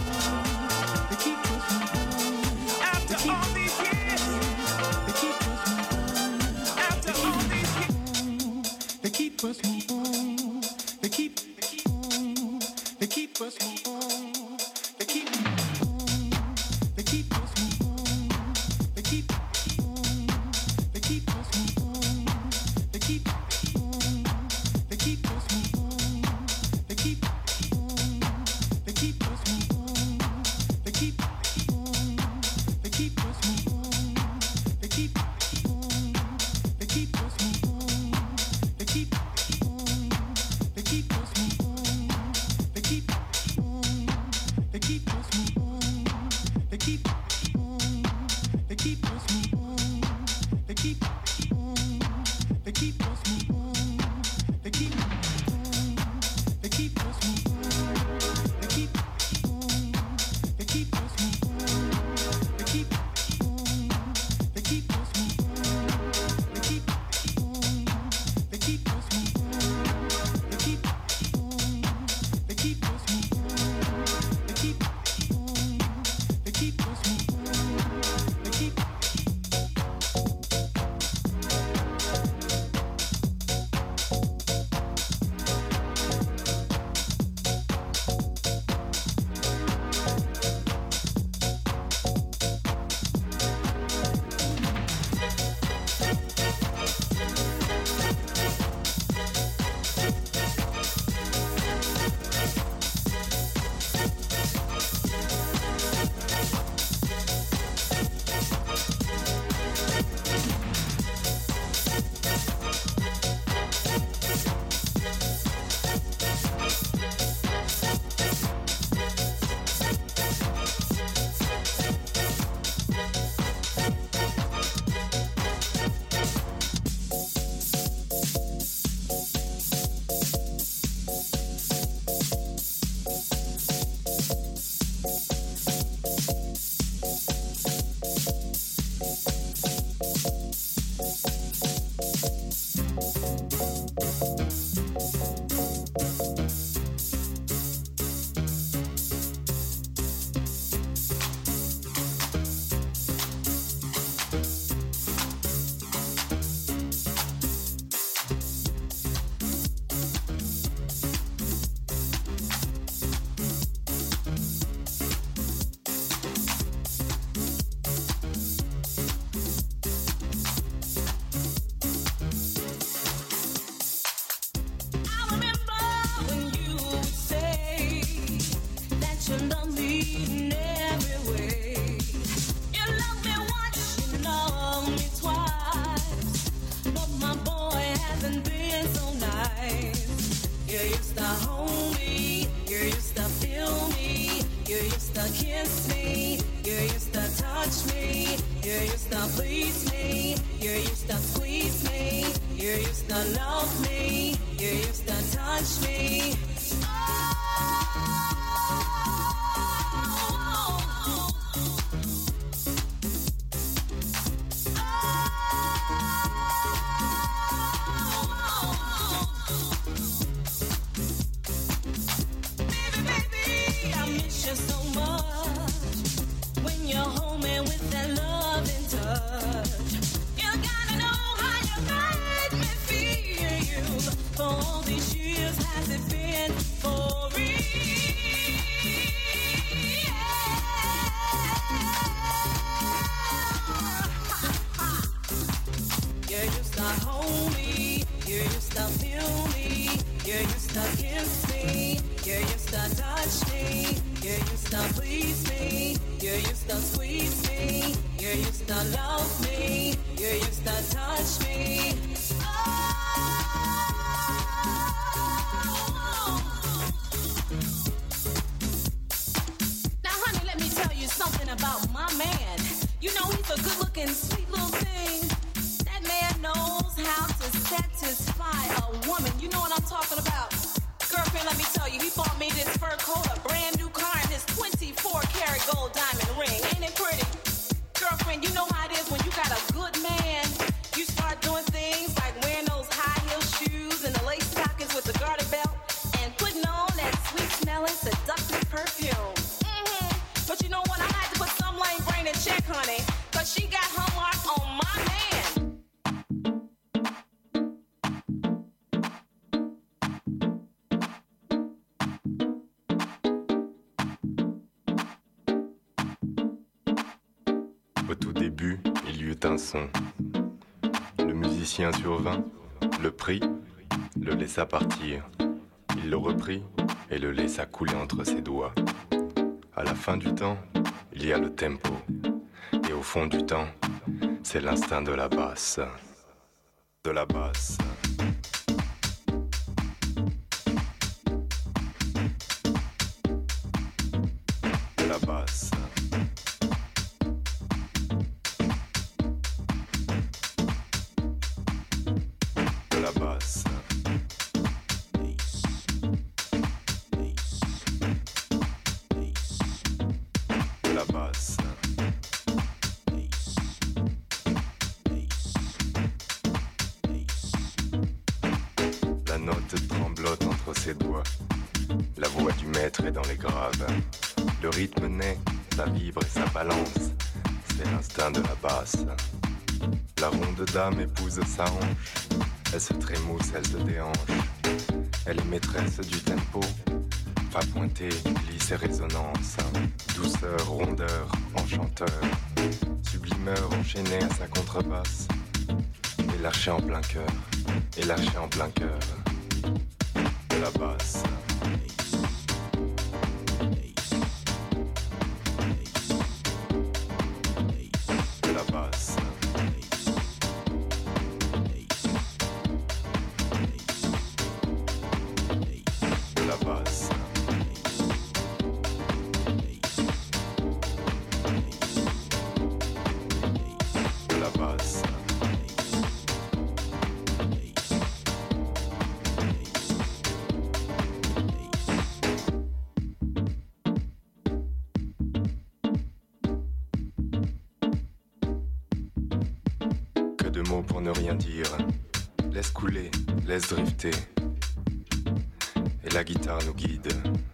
After all these years, they keep they keep on, they keep us moving, they keep on, they keep us moving, they keep on, they keep us moving, they keep on, they keep us moving, they keep on, they keep us moving, they keep on, they keep us moving, they keep on, they keep us moving, they keep on, they keep us moving, they keep. Au tout début, il y eut un son. Le musicien survint, le prit, le laissa partir. Il le reprit et le laissa couler entre ses doigts. À la fin du temps, il y a le tempo. Et au fond du temps, c'est l'instinct de la basse. De la basse. De la basse. ses doigts. La voix du maître est dans les graves. Le rythme naît, ça vibre et ça balance. C'est l'instinct de la basse. La ronde dame épouse sa hanche. Elle se trémousse, elle se déhanche. Elle est maîtresse du tempo. Pas pointé, glisse et résonance. Douceur, rondeur, enchanteur. Sublimeur enchaîné à sa contrebasse. Et lâché en plein cœur. Et lâché en plein cœur. De la basse. De la basse. De la basse. De la basse. Que de mots pour ne rien dire. Laisse couler, laisse drifter. Et la guitare nous guide.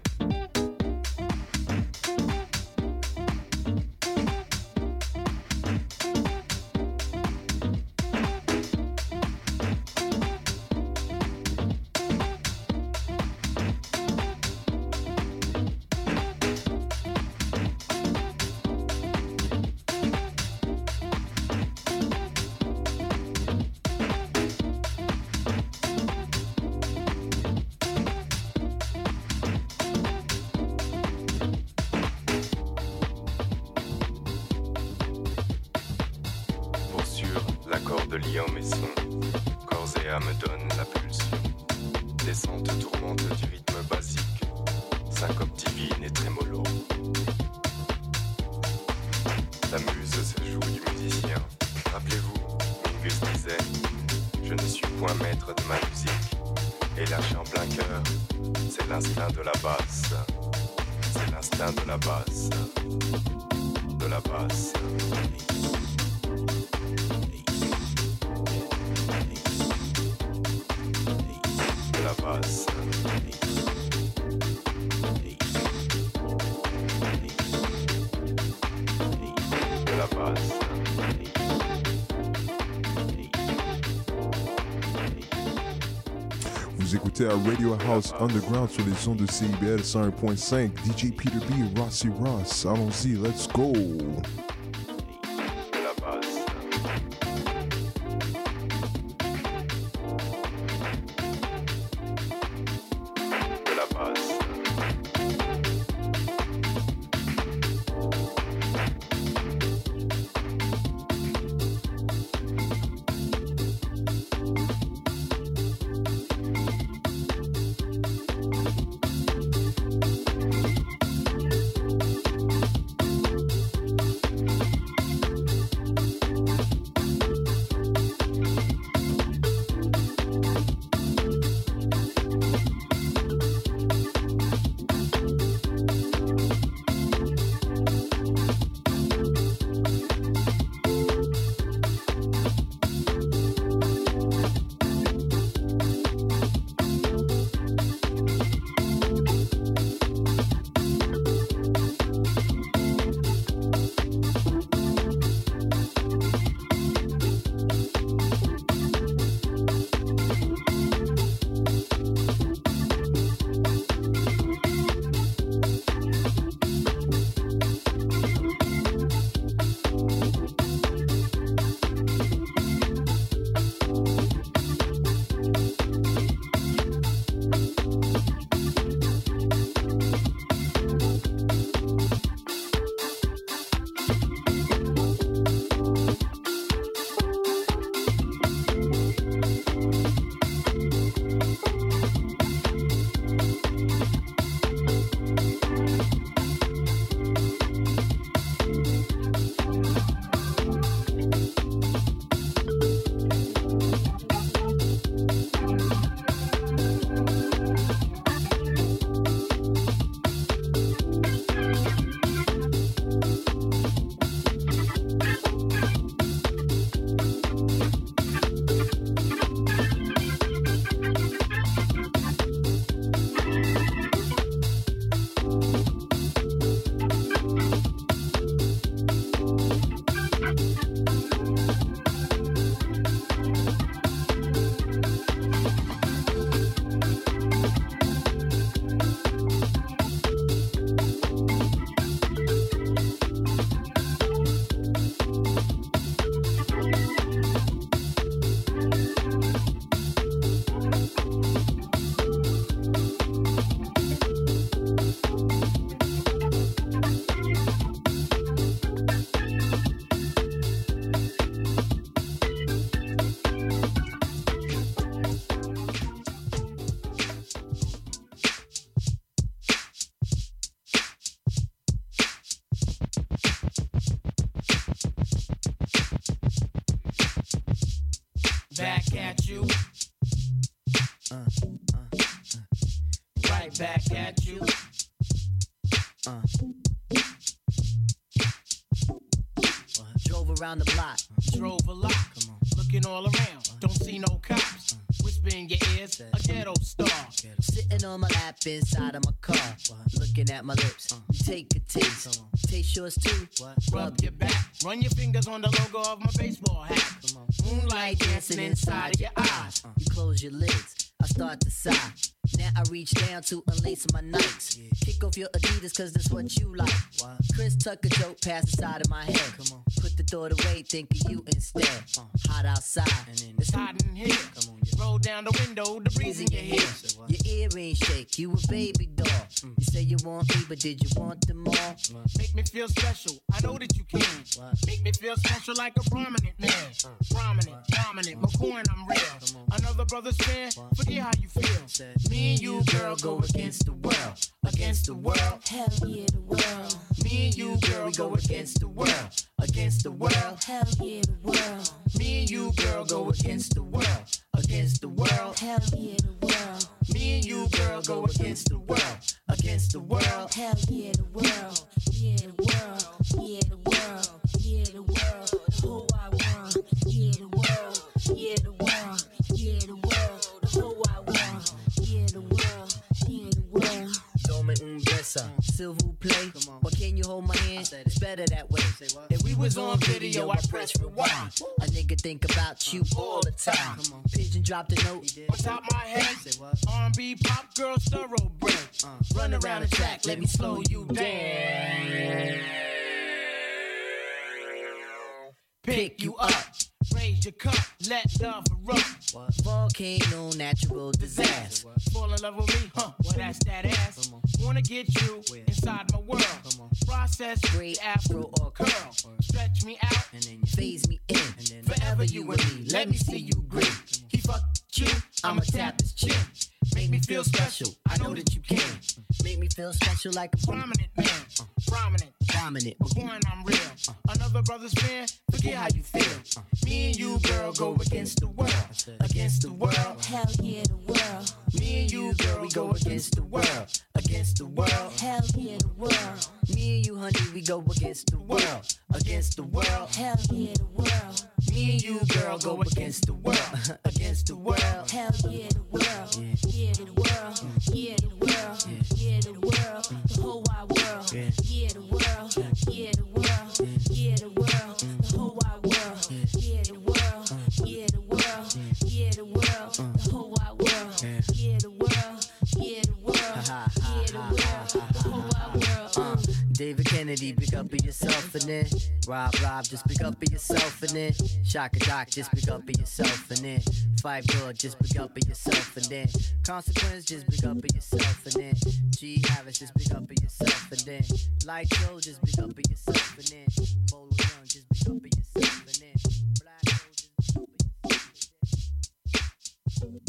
Pour sûr, l'accord de l'ium et son. Corps et âme donne la pulsion. Descente tourmente du rythme basique. Syncope divine et trémolo. La muse se joue du musicien. Rappelez-vous, Mingus disait: je ne suis point maître de ma musique. Et lâché en plein cœur, c'est l'instinct de la basse. C'est l'instinct de la basse. De la basse. De la basse. De la basse. Vous écoutez à Radio House Underground sur les ondes de C I B L cent un point cinq. D J Peter B, Rossi Ross. Allons-y, let's go! De la basse. De la basse. at you. Uh, uh, uh. Right back at you. Uh. Drove around the block. Drove a lot. Come on. Looking all around. Don't see no cops. Whisper in your ears. A ghetto star. Sitting on my lap inside of my car. Looking at my lips. You take a taste. Taste yours too. Rub your back. Run your fingers on the logo of my baseball hat. Moonlight dancing inside of your eyes. You close your lids. I start to sigh. Now I reach down to unlace my Nikes. Kick off your Adidas cause that's what you like. Chris Tucker joke past the side of my head. Put the thought away, think of you instead. Hot outside. It's hot in here. Roll down the window, the breeze in your hair. Your earrings shake, you a baby doll. You say you want me, but did you want them all? Make me feel special, I know that you can. Make me feel special like a prominent man. Prominent, dominant, McCoy, I'm real. Another brother's fan, forget how you feel. Me and you, girl, go against the world. Against the world. Hell yeah, the world. Me and you, girl, we go against the world. Against the world. Hell yeah, the world. Me and you, girl, go against the world. Against the world. Hell yeah, the world. Me and you, girl, go against the world. Against the world. Hell yeah, the world. Yeah, the world. Yeah, the world. Yeah, the world. The whole wide world. Yeah, the world. Yeah, the world. Yeah, the world. The whole wide world. Yeah, the world. Yeah, the world. Dome un besa, s'il vous plaît. Or can you hold my hand? It's better that way. If we was on video, I press rewind. A nigga think about you all the time. Pigeon dropped a note on top my head. R and B pop girl thoroughbred. Run around the track, let me slow you down. Pick you up, raise your cup, let love erupt. Volcano, natural disaster. Fall in love with me, huh? Well, that's that ass. Wanna get you inside my world. Process, great afro or curl. Stretch me out and then you phase me in. And then forever you and me, let me see you grin. He fucked you, I'ma tap his chin. Make me feel special, I know that you can. Make me feel special like a prominent man. Prominent, dominant. McCoy, I'm real. Another brother's fan, forget how you feel. Me and you, girl, go against the world. Against the world. Hell yeah, the world. Me and you, girl, we go against the world. Against the world. Hell yeah, the world. Me and you, honey, we go against the world. Against the world. Hell yeah, the world. Me and you, girl, go against the world. Against the world. Hell yeah, the world. Yeah, the world. Yeah, the world. Yeah, the world. The whole wide world. Yeah, the world. Yeah, the world. Yeah, the world. The whole wide world. Yeah, the world. Yeah, the world. Yeah, the world. The whole wide world. Yeah, the world. Yeah, the world. Yeah, the world. The whole wide world. David Kennedy, pick up of yourself and then Rob Rob, just pick up of yourself and then Shaka Doc, just pick up of yourself and then Five Dog, just pick up of yourself and then Consequence, just pick up of yourself and then G Harris, just pick up of yourself and then Light Show, just pick up of yourself and then Bolo Young, just pick up of yourself and then Black Show, just pick up of yourself and then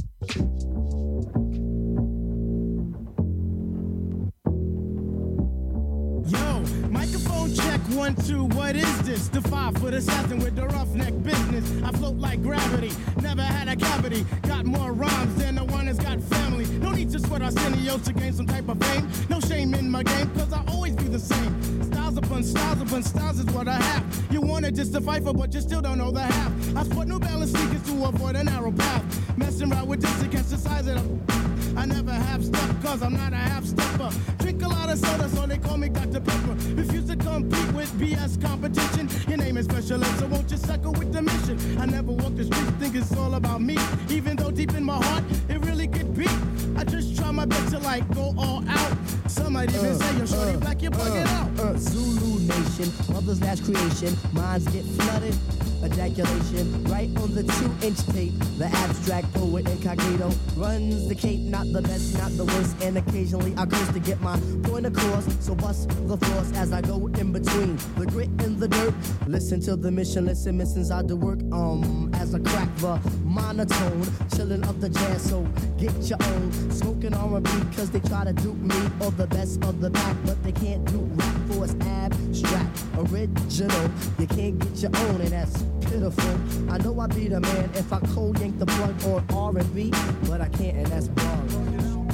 Yo, microphone check, one, two, what is this? The five-foot assassin with the roughneck business. I float like gravity, never had a cavity. Got more rhymes than the one that's got family. No need to sweat Arsenio to gain some type of fame. No shame in my game, cause I always be the same. Styles upon styles upon styles is what I have. You wanted just to fight for, but you still don't know the half. I sport New Balance sneakers to avoid a narrow path. Messing around with this against the size of them. I never have stuff, cause I'm not a half-stepper. Drink a lot of soda, so they call me Doctor Pepper. Refuse to compete with B S competition. Your name is Special Ed, so won't you suckle with the mission? I never walk the streets, think it's all about me. Even though deep in my heart, it really could be. I just try my best to like go all out. Some might even uh, say you're shorty uh, black, you're bugging uh, out. Uh, Zulu Nation, mother's last creation. Minds get flooded. Ejaculation, right on the two-inch tape. The abstract poet incognito runs the cape, not the best, not the worst. And occasionally I curse to get my point across. So bust the floors as I go in between the grit and the dirt. Listen to the mission, listen, missions I do work. Um, as I crack the monotone, chilling up the jazz. So get your own, smoking R and B, cause they try to dupe me or the best of the pack, but they can't do rap for know it's abstract, original. You can't get your own, and that's pitiful. I know I'd be the man if I cold yank the plug on R and B, but I can't, and that's wrong.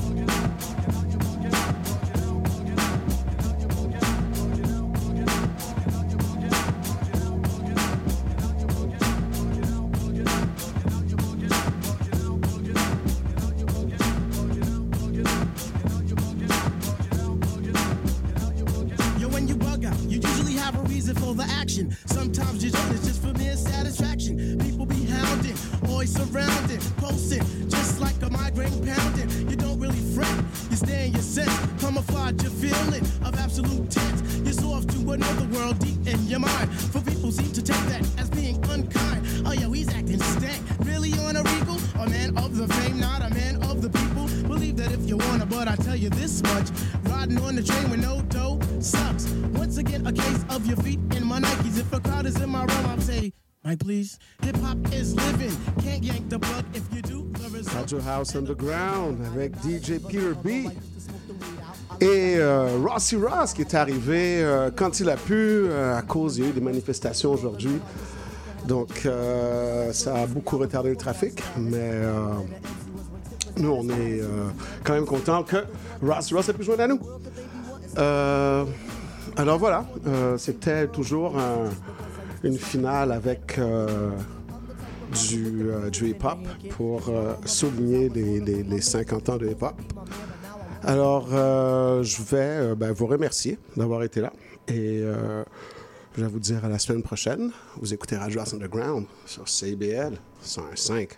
For the action, sometimes you don't, it's just for mere satisfaction. People be hounding, always surrounding, posting, just like a migraine pounding. You don't really fret, you stay in your sense, camouflage your feeling of absolute tense. You're so off to another world deep in your mind. For people seem to take that as being unkind. Oh yo, he's acting stank, really on a regal? A man of the fame, not a man of the people. Believe that if you wanna, but I tell you this much, riding on the train with no dough sucks. Once again, a case of your feet in my Nikes. If a crowd is in my realm, I'll say, Mike, please. Hip hop is living. Can't yank the plug if you do. Radio House Underground avec D J Peter B. Et euh, Rossi Ross qui est arrivé euh, quand il a pu, euh, à cause, il y a eu des manifestations aujourd'hui. Donc, euh, ça a beaucoup retardé le trafic. Mais euh, nous, on est euh, quand même contents que Rossi Ross ait pu joindre à nous. Euh, alors voilà, euh, c'était toujours un, une finale avec euh, du, euh, du hip-hop pour euh, souligner les, les, les cinquante ans de hip-hop. Alors, euh, je vais euh, ben, vous remercier d'avoir été là et euh, je vais vous dire à la semaine prochaine. Vous écoutez Radio House Underground sur C I B L cent un virgule cinq.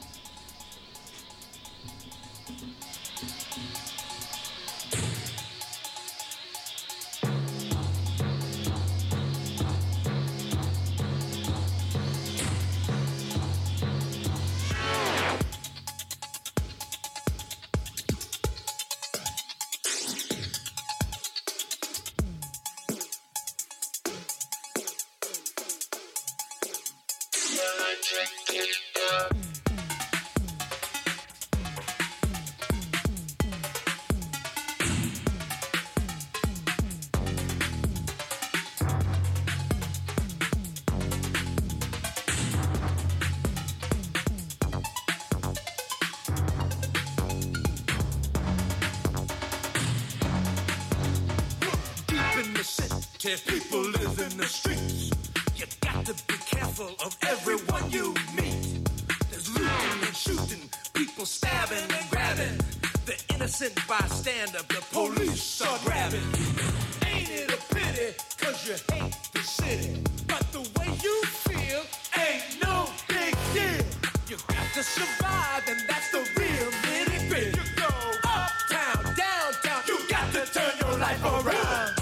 People live in the streets. You got to be careful of everyone you meet. There's looting and shooting, people stabbing and grabbing. The innocent bystander, the police are grabbing. Ain't it a pity, cause you hate the city. But the way you feel ain't no big deal. You got to survive, and that's the real nitty gritty. You go uptown, downtown, you got to turn your life around.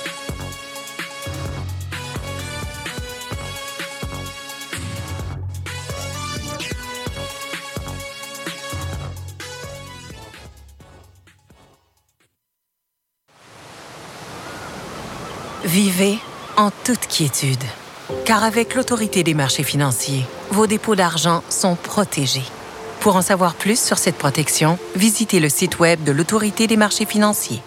Vivez en toute quiétude, car avec l'Autorité des marchés financiers, vos dépôts d'argent sont protégés. Pour en savoir plus sur cette protection, visitez le site web de l'Autorité des marchés financiers.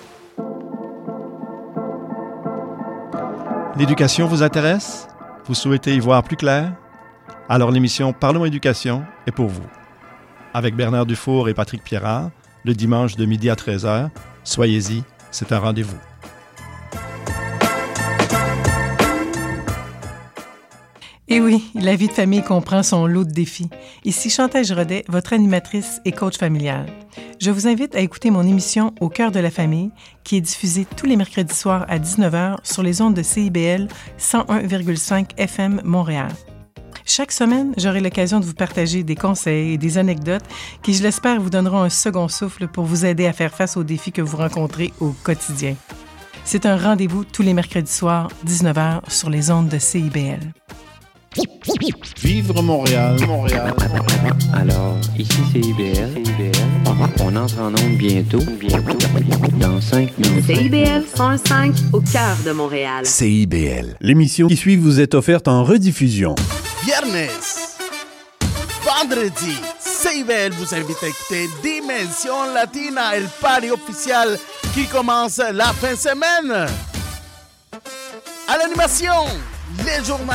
L'éducation vous intéresse? Vous souhaitez y voir plus clair? Alors l'émission Parlons éducation est pour vous. Avec Bernard Dufour et Patrick Pierrard, le dimanche de midi à treize heures, soyez-y, c'est un rendez-vous. Et oui, la vie de famille comprend son lot de défis. Ici Chantal Giraudet, votre animatrice et coach familial. Je vous invite à écouter mon émission Au cœur de la famille, qui est diffusée tous les mercredis soirs à dix-neuf heures sur les ondes de C I B L cent un virgule cinq F M Montréal. Chaque semaine, j'aurai l'occasion de vous partager des conseils et des anecdotes qui, je l'espère, vous donneront un second souffle pour vous aider à faire face aux défis que vous rencontrez au quotidien. C'est un rendez-vous tous les mercredis soirs, dix-neuf heures, sur les ondes de C I B L. Vivre Montréal, Montréal. Alors, ici c'est I B L. C I B L. On entre en onde bientôt, bientôt, dans cinq minutes. C I B L cent un virgule cinq, au cœur de Montréal. C I B L. L'émission qui suit vous est offerte en rediffusion. Viernes, vendredi, C I B L vous invite à écouter Dimension Latina, le party officiel qui commence la fin de semaine. À l'animation, les journalistes.